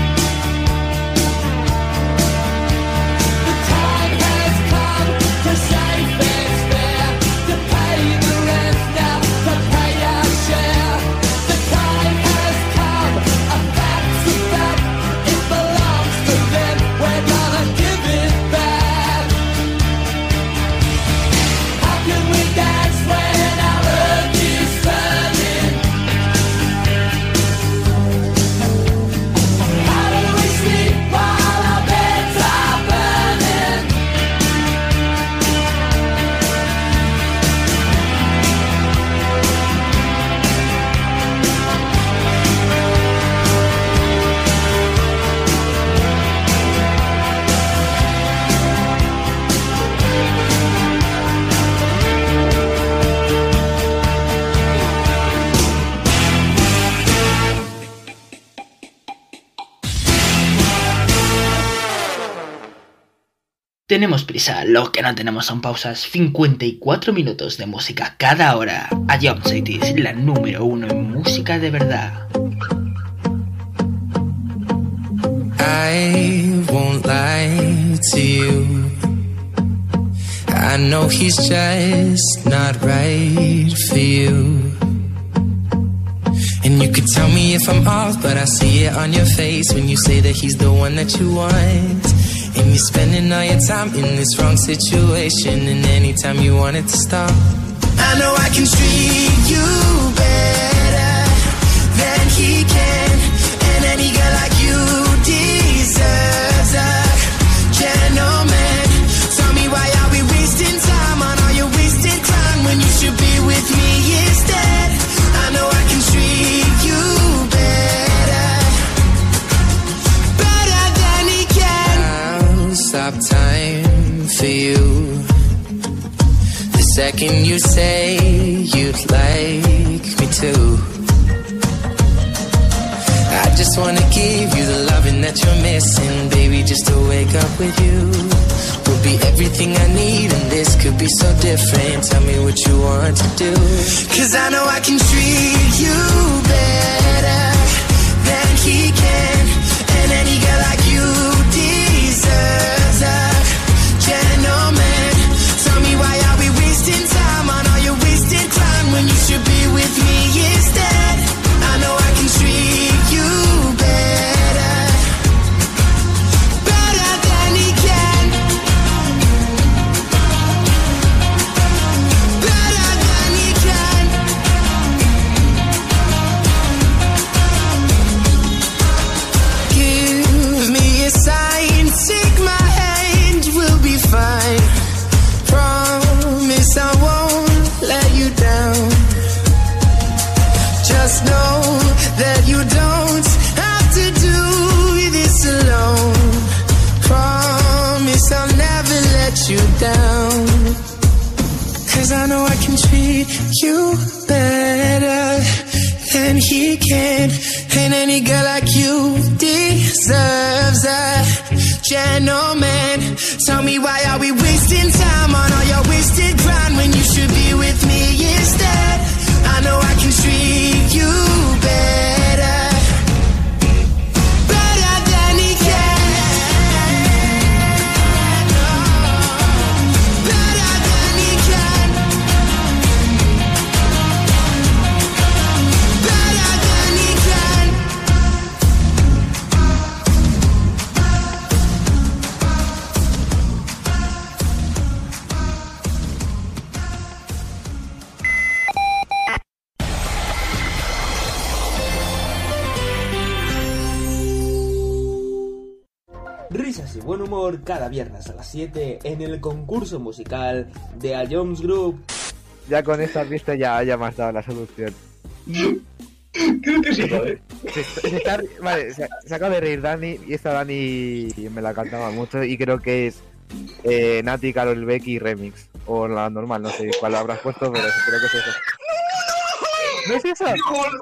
The time has come to save fair's fair, to pay the rent now, to pay our share. The time has come. A fact's a fact. It belongs to them. We're gonna give it back. How can we dance when our earth is turning? How do we sleep while our beds are burning? Tenemos prisa, lo que no tenemos son pausas. cincuenta y cuatro minutos de música cada hora. A Jump City es la número uno en música de verdad. I won't lie to you. I know he's just not right for you. And you could tell me if I'm off, but I see it on your face when you say that he's the one that you want. And you're spending all your time in this wrong situation, and anytime you want it to stop, I know I can treat you better than he can. And any girl like you deserves a gentleman. Tell me, why are we wasting time on all your wasted time when you should be with me instead? I know I can treat you better, better than he can. I'll stop time for you the second you say you'd like me to. I just wanna give you the loving that you're missing, baby, just to wake up with you will be everything I need, and this could be so different. Tell me what you want to do, 'cause I know I can treat you better than he can. And any girl like you deserves a gentleman. Tell me, why are we wasting time on all your wasted time when you should be with me instead? I know I can treat you better, better than he can, better than he can. Give me a sign, take my hand, we'll be fine. Promise I won't let you down. Just know that you don't have to do this alone. Promise I'll never let you down. 'Cause I know I can treat you better than he can. And any girl like you deserves a gentleman. Tell me, why are we wasting time on all your wasted grind when you should be with me instead? I know I can treat you better, better than he can, better than he can, better than he can. Risas y buen humor cada viernes a las siete en el concurso musical de A Jones Group. Ya con esta pista ya, ya me has dado la solución. Creo que sí, ¿vale? Se, se está, vale, se, se acaba de reír Dani, y esta Dani me la cantaba mucho, y creo que es eh, Nati, Karol Becky remix. O la normal, no sé cuál habrás puesto, pero creo que es eso. ¿No es eso?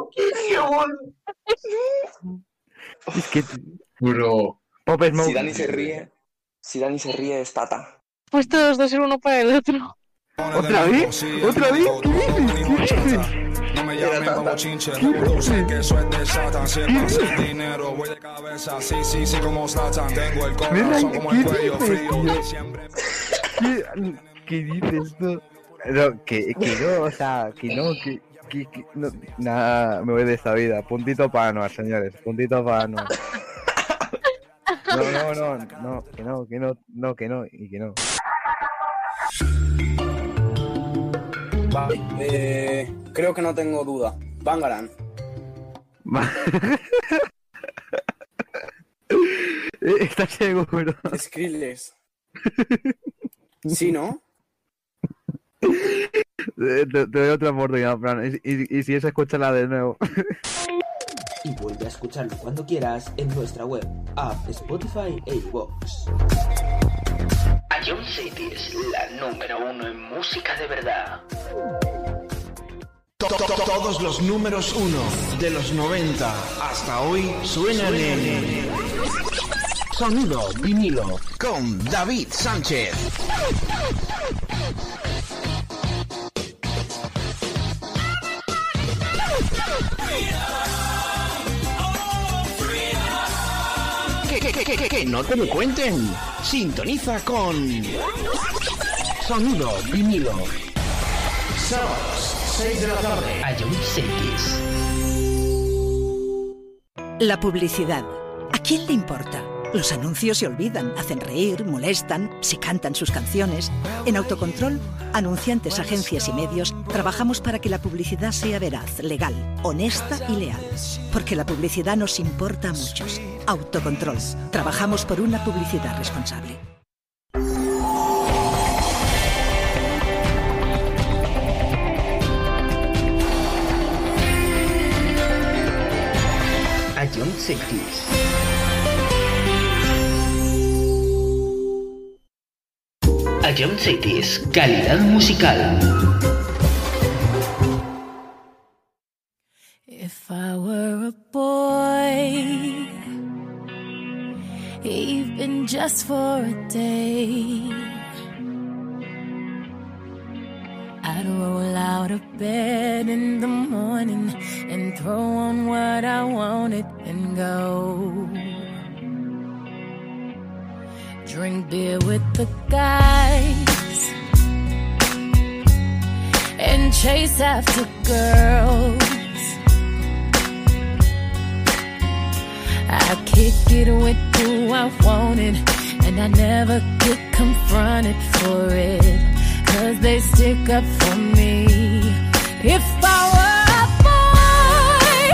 Es que... Bro. Pop Smoke. Si Dani se ríe, si Dani se ríe es Tata. Pues todos dos ser uno para el otro. ¿Otra vez? ¿Otra vez? ¿Qué dices? ¿Qué dices? No me llamen como chinche, tú sé que eso es de Satan. Si es más el dinero, voy de cabeza, sí, sí, sí, como Satan. Tengo el corazón como el cuello frío. Siempre... ¿Qué, ¿Qué dices tú? No, que, que no, o sea, que no, que... que, que no, nada, me voy de esta vida. Puntito para Anuar, señores, puntito para Anuar. No, no, no, no, que no, que no, no, que no, y que no. Vale, eh, creo que no tengo duda. Bangarang. ¿Estás seguro? Skrillex. ¿Sí, no? Te, te doy otra oportunidad, Fran. Y, y, y si es, escúchala de nuevo. Y vuelve a escucharlo cuando quieras en nuestra web, app, Spotify e iVoox. A Jones City es la número uno en música de verdad. Todos los números uno de los noventa hasta hoy suenan en Sonido Vinilo con David Sánchez. Que, que, que, que, que no te lo cuenten. Sintoniza con Sonido Vinilo. Sábados, seis de la tarde. A Jones City. La publicidad. ¿A quién le importa? Los anuncios se olvidan, hacen reír, molestan, se cantan sus canciones. En Autocontrol, anunciantes, agencias y medios, trabajamos para que la publicidad sea veraz, legal, honesta y leal. Porque la publicidad nos importa a muchos. Autocontrol. Trabajamos por una publicidad responsable. Ion Cities. Ion Cities, calidad musical. If I were a boy, even just for a day, I'd roll out of bed in the morning and throw on what I wanted and go. Drink beer with the guys and chase after girls. I kick it with who I wanted, and I never get confronted for it, 'cause they stick up for me. If I were a boy,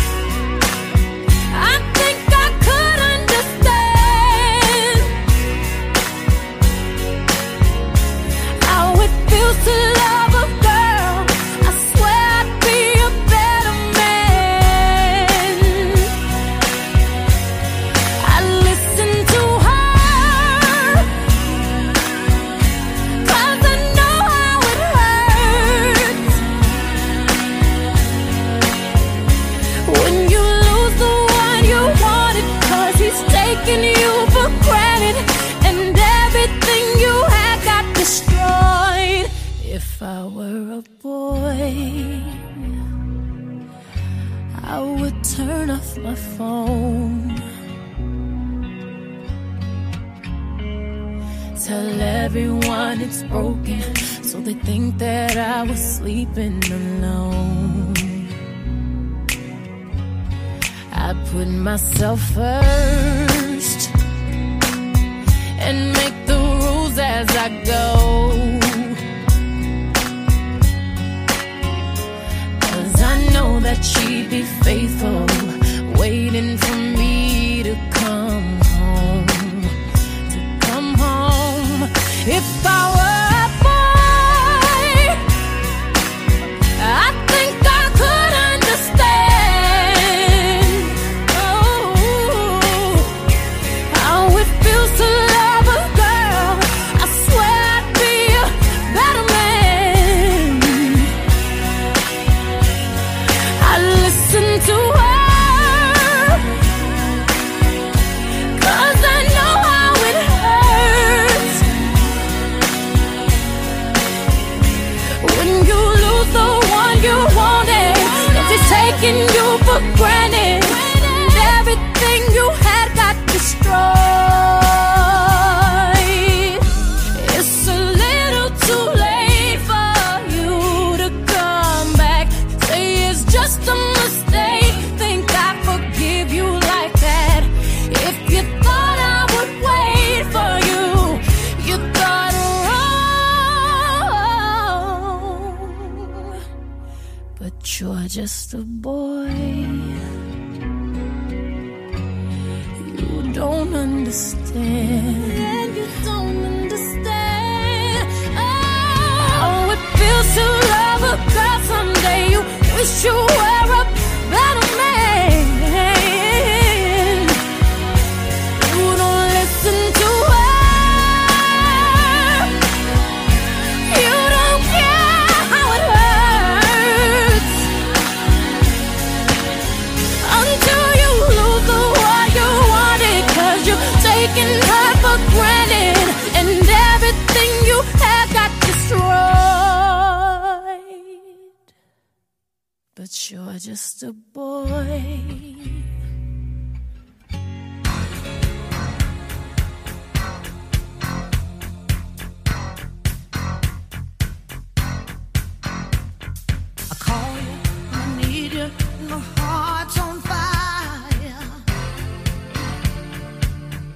I think I could understand how it feels to love a girl. I swear I'd be a better man. I listen to her, 'cause I know how it hurts when you lose the one you wanted, 'cause he's taking you for granted and everything you had got destroyed. If I were a boy, I would turn off my phone, tell everyone it's broken, so they think that I was sleeping alone. I put myself first and make the rules as I go, 'cause I know that she'd be faithful, waiting for me to come home, to come home. If I were a boy, I think I could understand, oh, how it feels to love a girl. I swear I'd be a better man. I listen to her, 'cause I know how it hurts when you lose the one you wanted, 'cause he's taking you for granted and everything you had got destroyed. It's a little too late for you to come back, say it's just a mistake, think I forgive you like that. If you thought I would wait for you, you thought wrong. But you're just a boy, you don't understand. You don't understand. Oh, it feels to love a girl someday. You wish you were a better man. You don't listen to her. You don't care how it hurts until you lose the one you wanted, 'cause you're taking her for granted and everything you had got destroyed. But you're just a boy. I call you, I need you, my heart's on fire.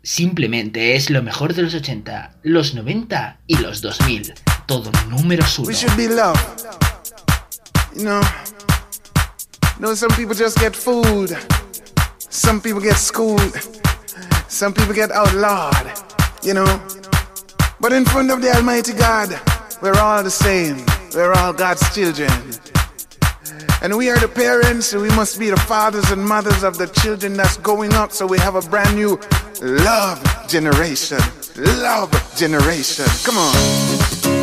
Simplemente es lo mejor de los ochenta, los noventa y los dos mil. Todo números uno. We should be loved. You know, you know, some people just get fooled. Some people get schooled. Some people get outlawed. You know, but in front of the Almighty God, we're all the same. We're all God's children. And we are the parents, so we must be the fathers and mothers of the children that's going up. So we have a brand new love generation. Love generation. Come on.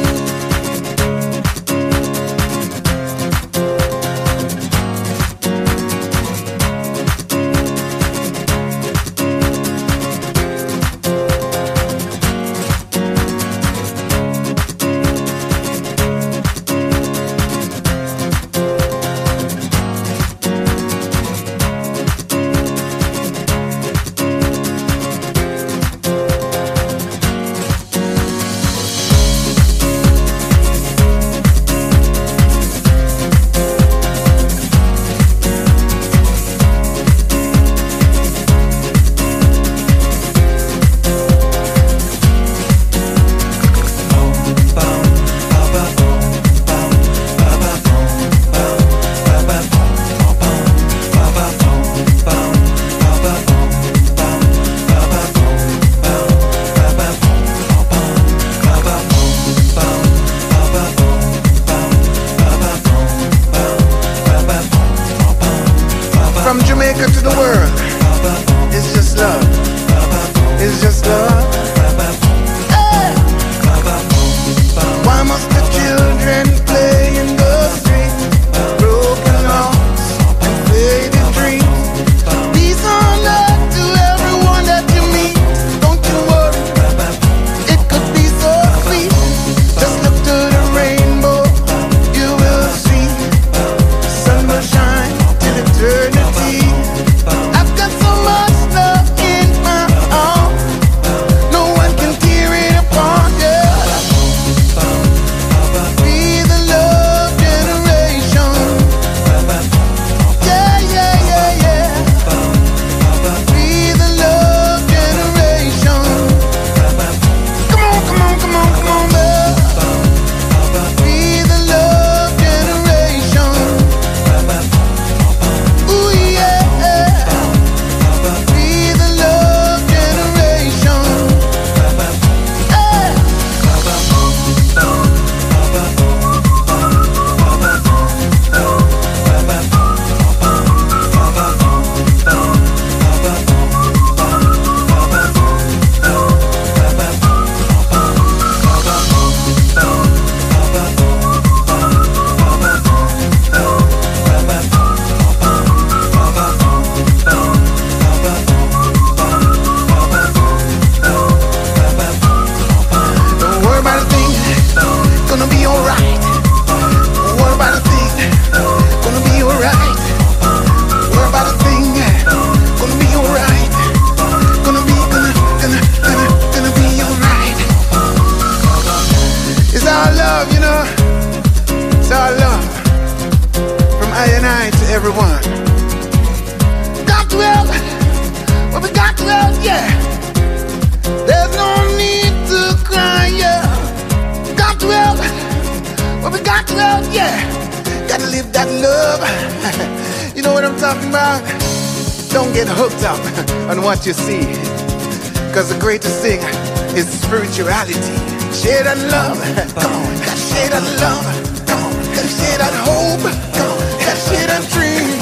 You see, cause the greatest thing is spirituality. Share that love, come on, share that love, come on, share that hope, come on, share that dreams.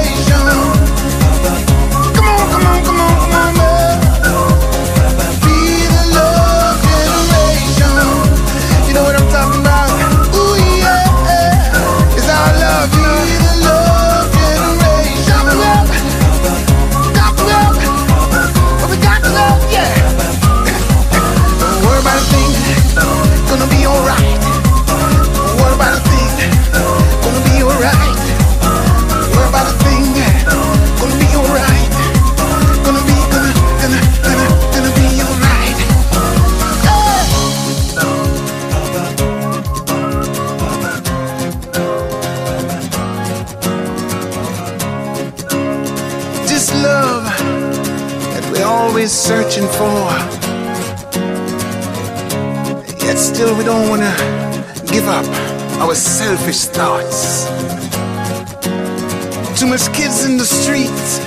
Be searching for. Yet still we don't wanna give up our selfish thoughts. Too much kids in the streets.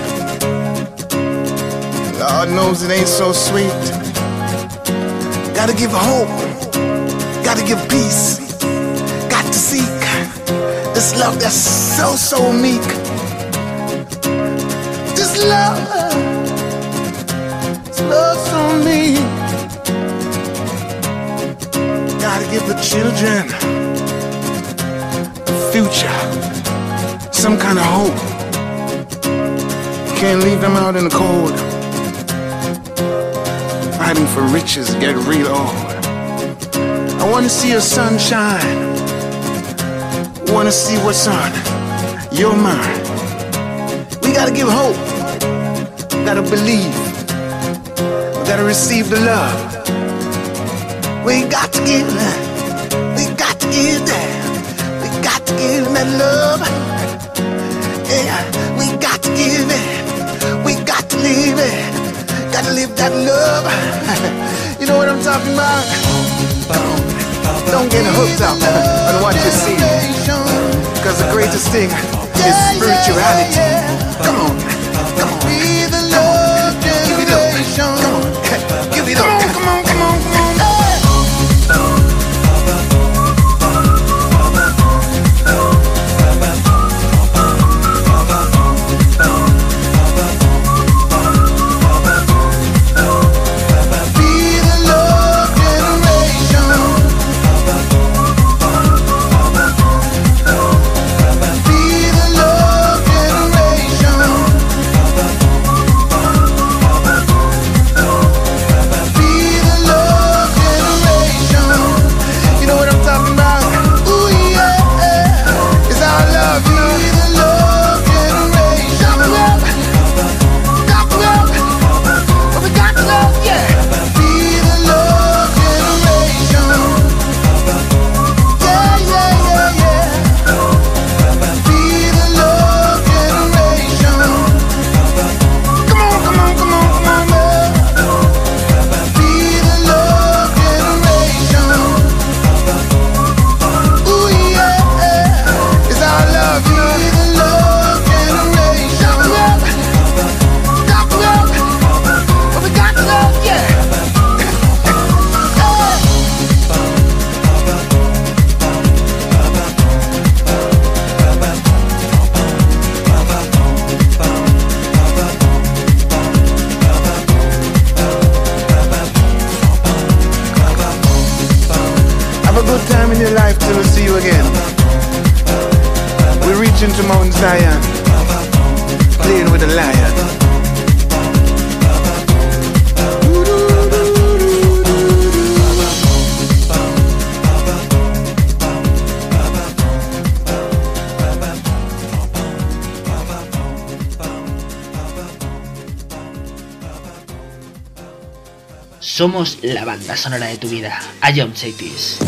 Lord knows it ain't so sweet. Gotta give hope. Gotta give peace. Got to seek this love that's so, so meek. This love, this love so meek. Gotta give the children a future, some kind of hope. Can't leave them out in the cold, fighting for riches, get real old. I wanna see your sunshine, wanna see what's on your mind. We gotta give hope, gotta believe, we gotta receive the love. We got to give, we got to give that, we got to give that love. Yeah, we got to give it, we got to live it, gotta live that love. You know what I'm talking about? Don't get hooked up on what you see, cause the greatest thing is spirituality. Come on, come on, be the love generation. Come on, give it up. Come on, come on, come on. To Mount Zion, playing with a lion. Somos la banda sonora de tu vida. A Jump Cities.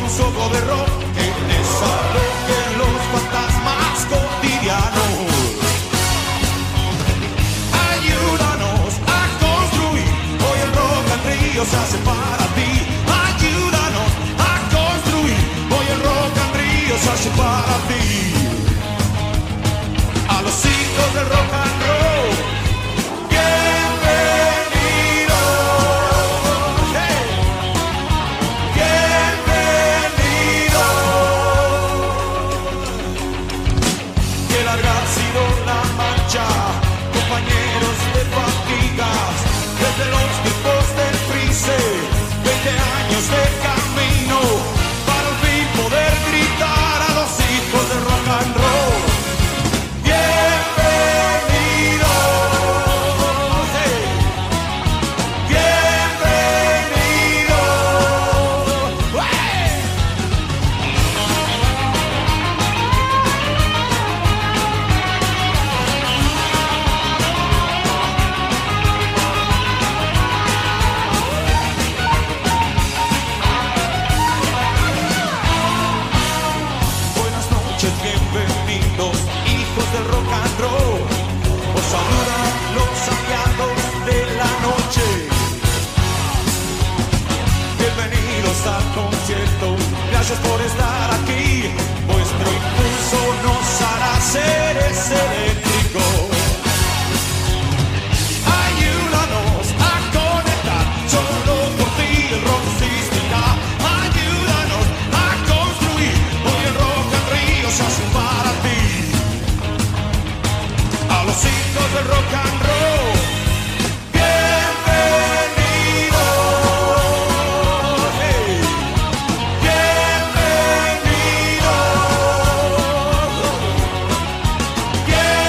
soplo de rock que desaloje los fantasmas cotidianos. Ayúdanos a construir, hoy el rock and río se hace para ti. Ayúdanos a construir, hoy el rock and río se hace para ti. A los hijos del rock and roll, bienvenidos, hey, bienvenidos. Qué larga ha sido la marcha, compañeros de fatigas, desde los tiempos del Freeze, veinte años de camino, para al fin poder gritar a los hijos del rock and roll. Bienvenidos, hijos del rock and roll. Os saludan los aliados de la noche. Bienvenidos al concierto. Gracias por estar aquí. Vuestro impulso nos hará seres eléctricos. Ayúdanos a conectar. Solo por ti el rock existirá. Ayúdanos a construir. Hoy el rock and río se hace para ti. A los hijos del rock and roll, bienvenidos, hey, bienvenidos,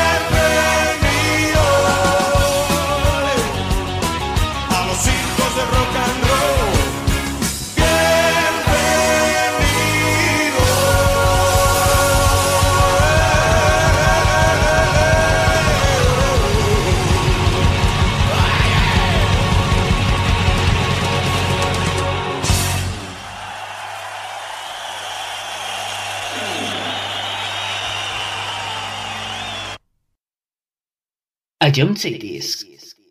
bienvenidos. A los hijos del rock and roll, A John Cities.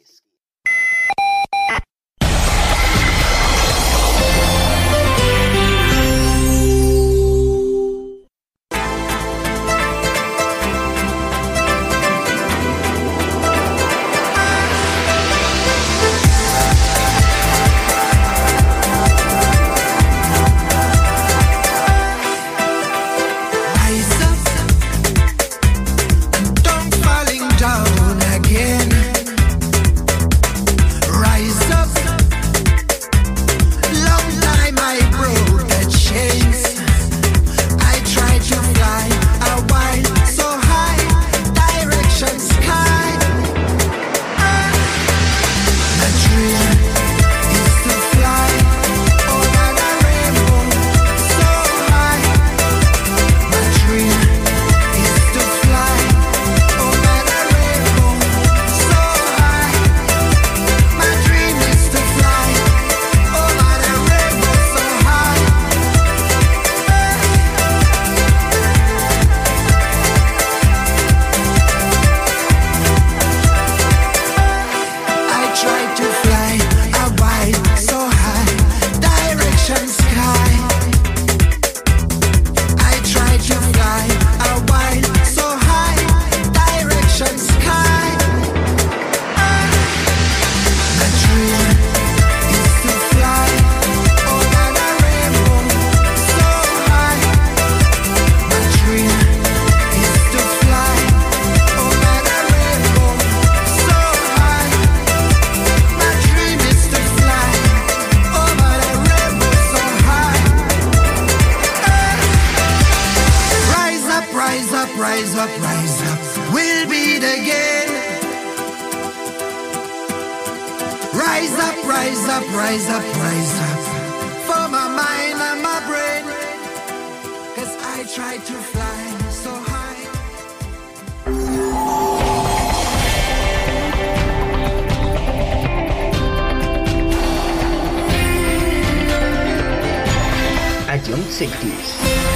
Rise up, rise up, rise up, rise up. For my mind and my brain. Cause I try to fly so high. A John Seitis.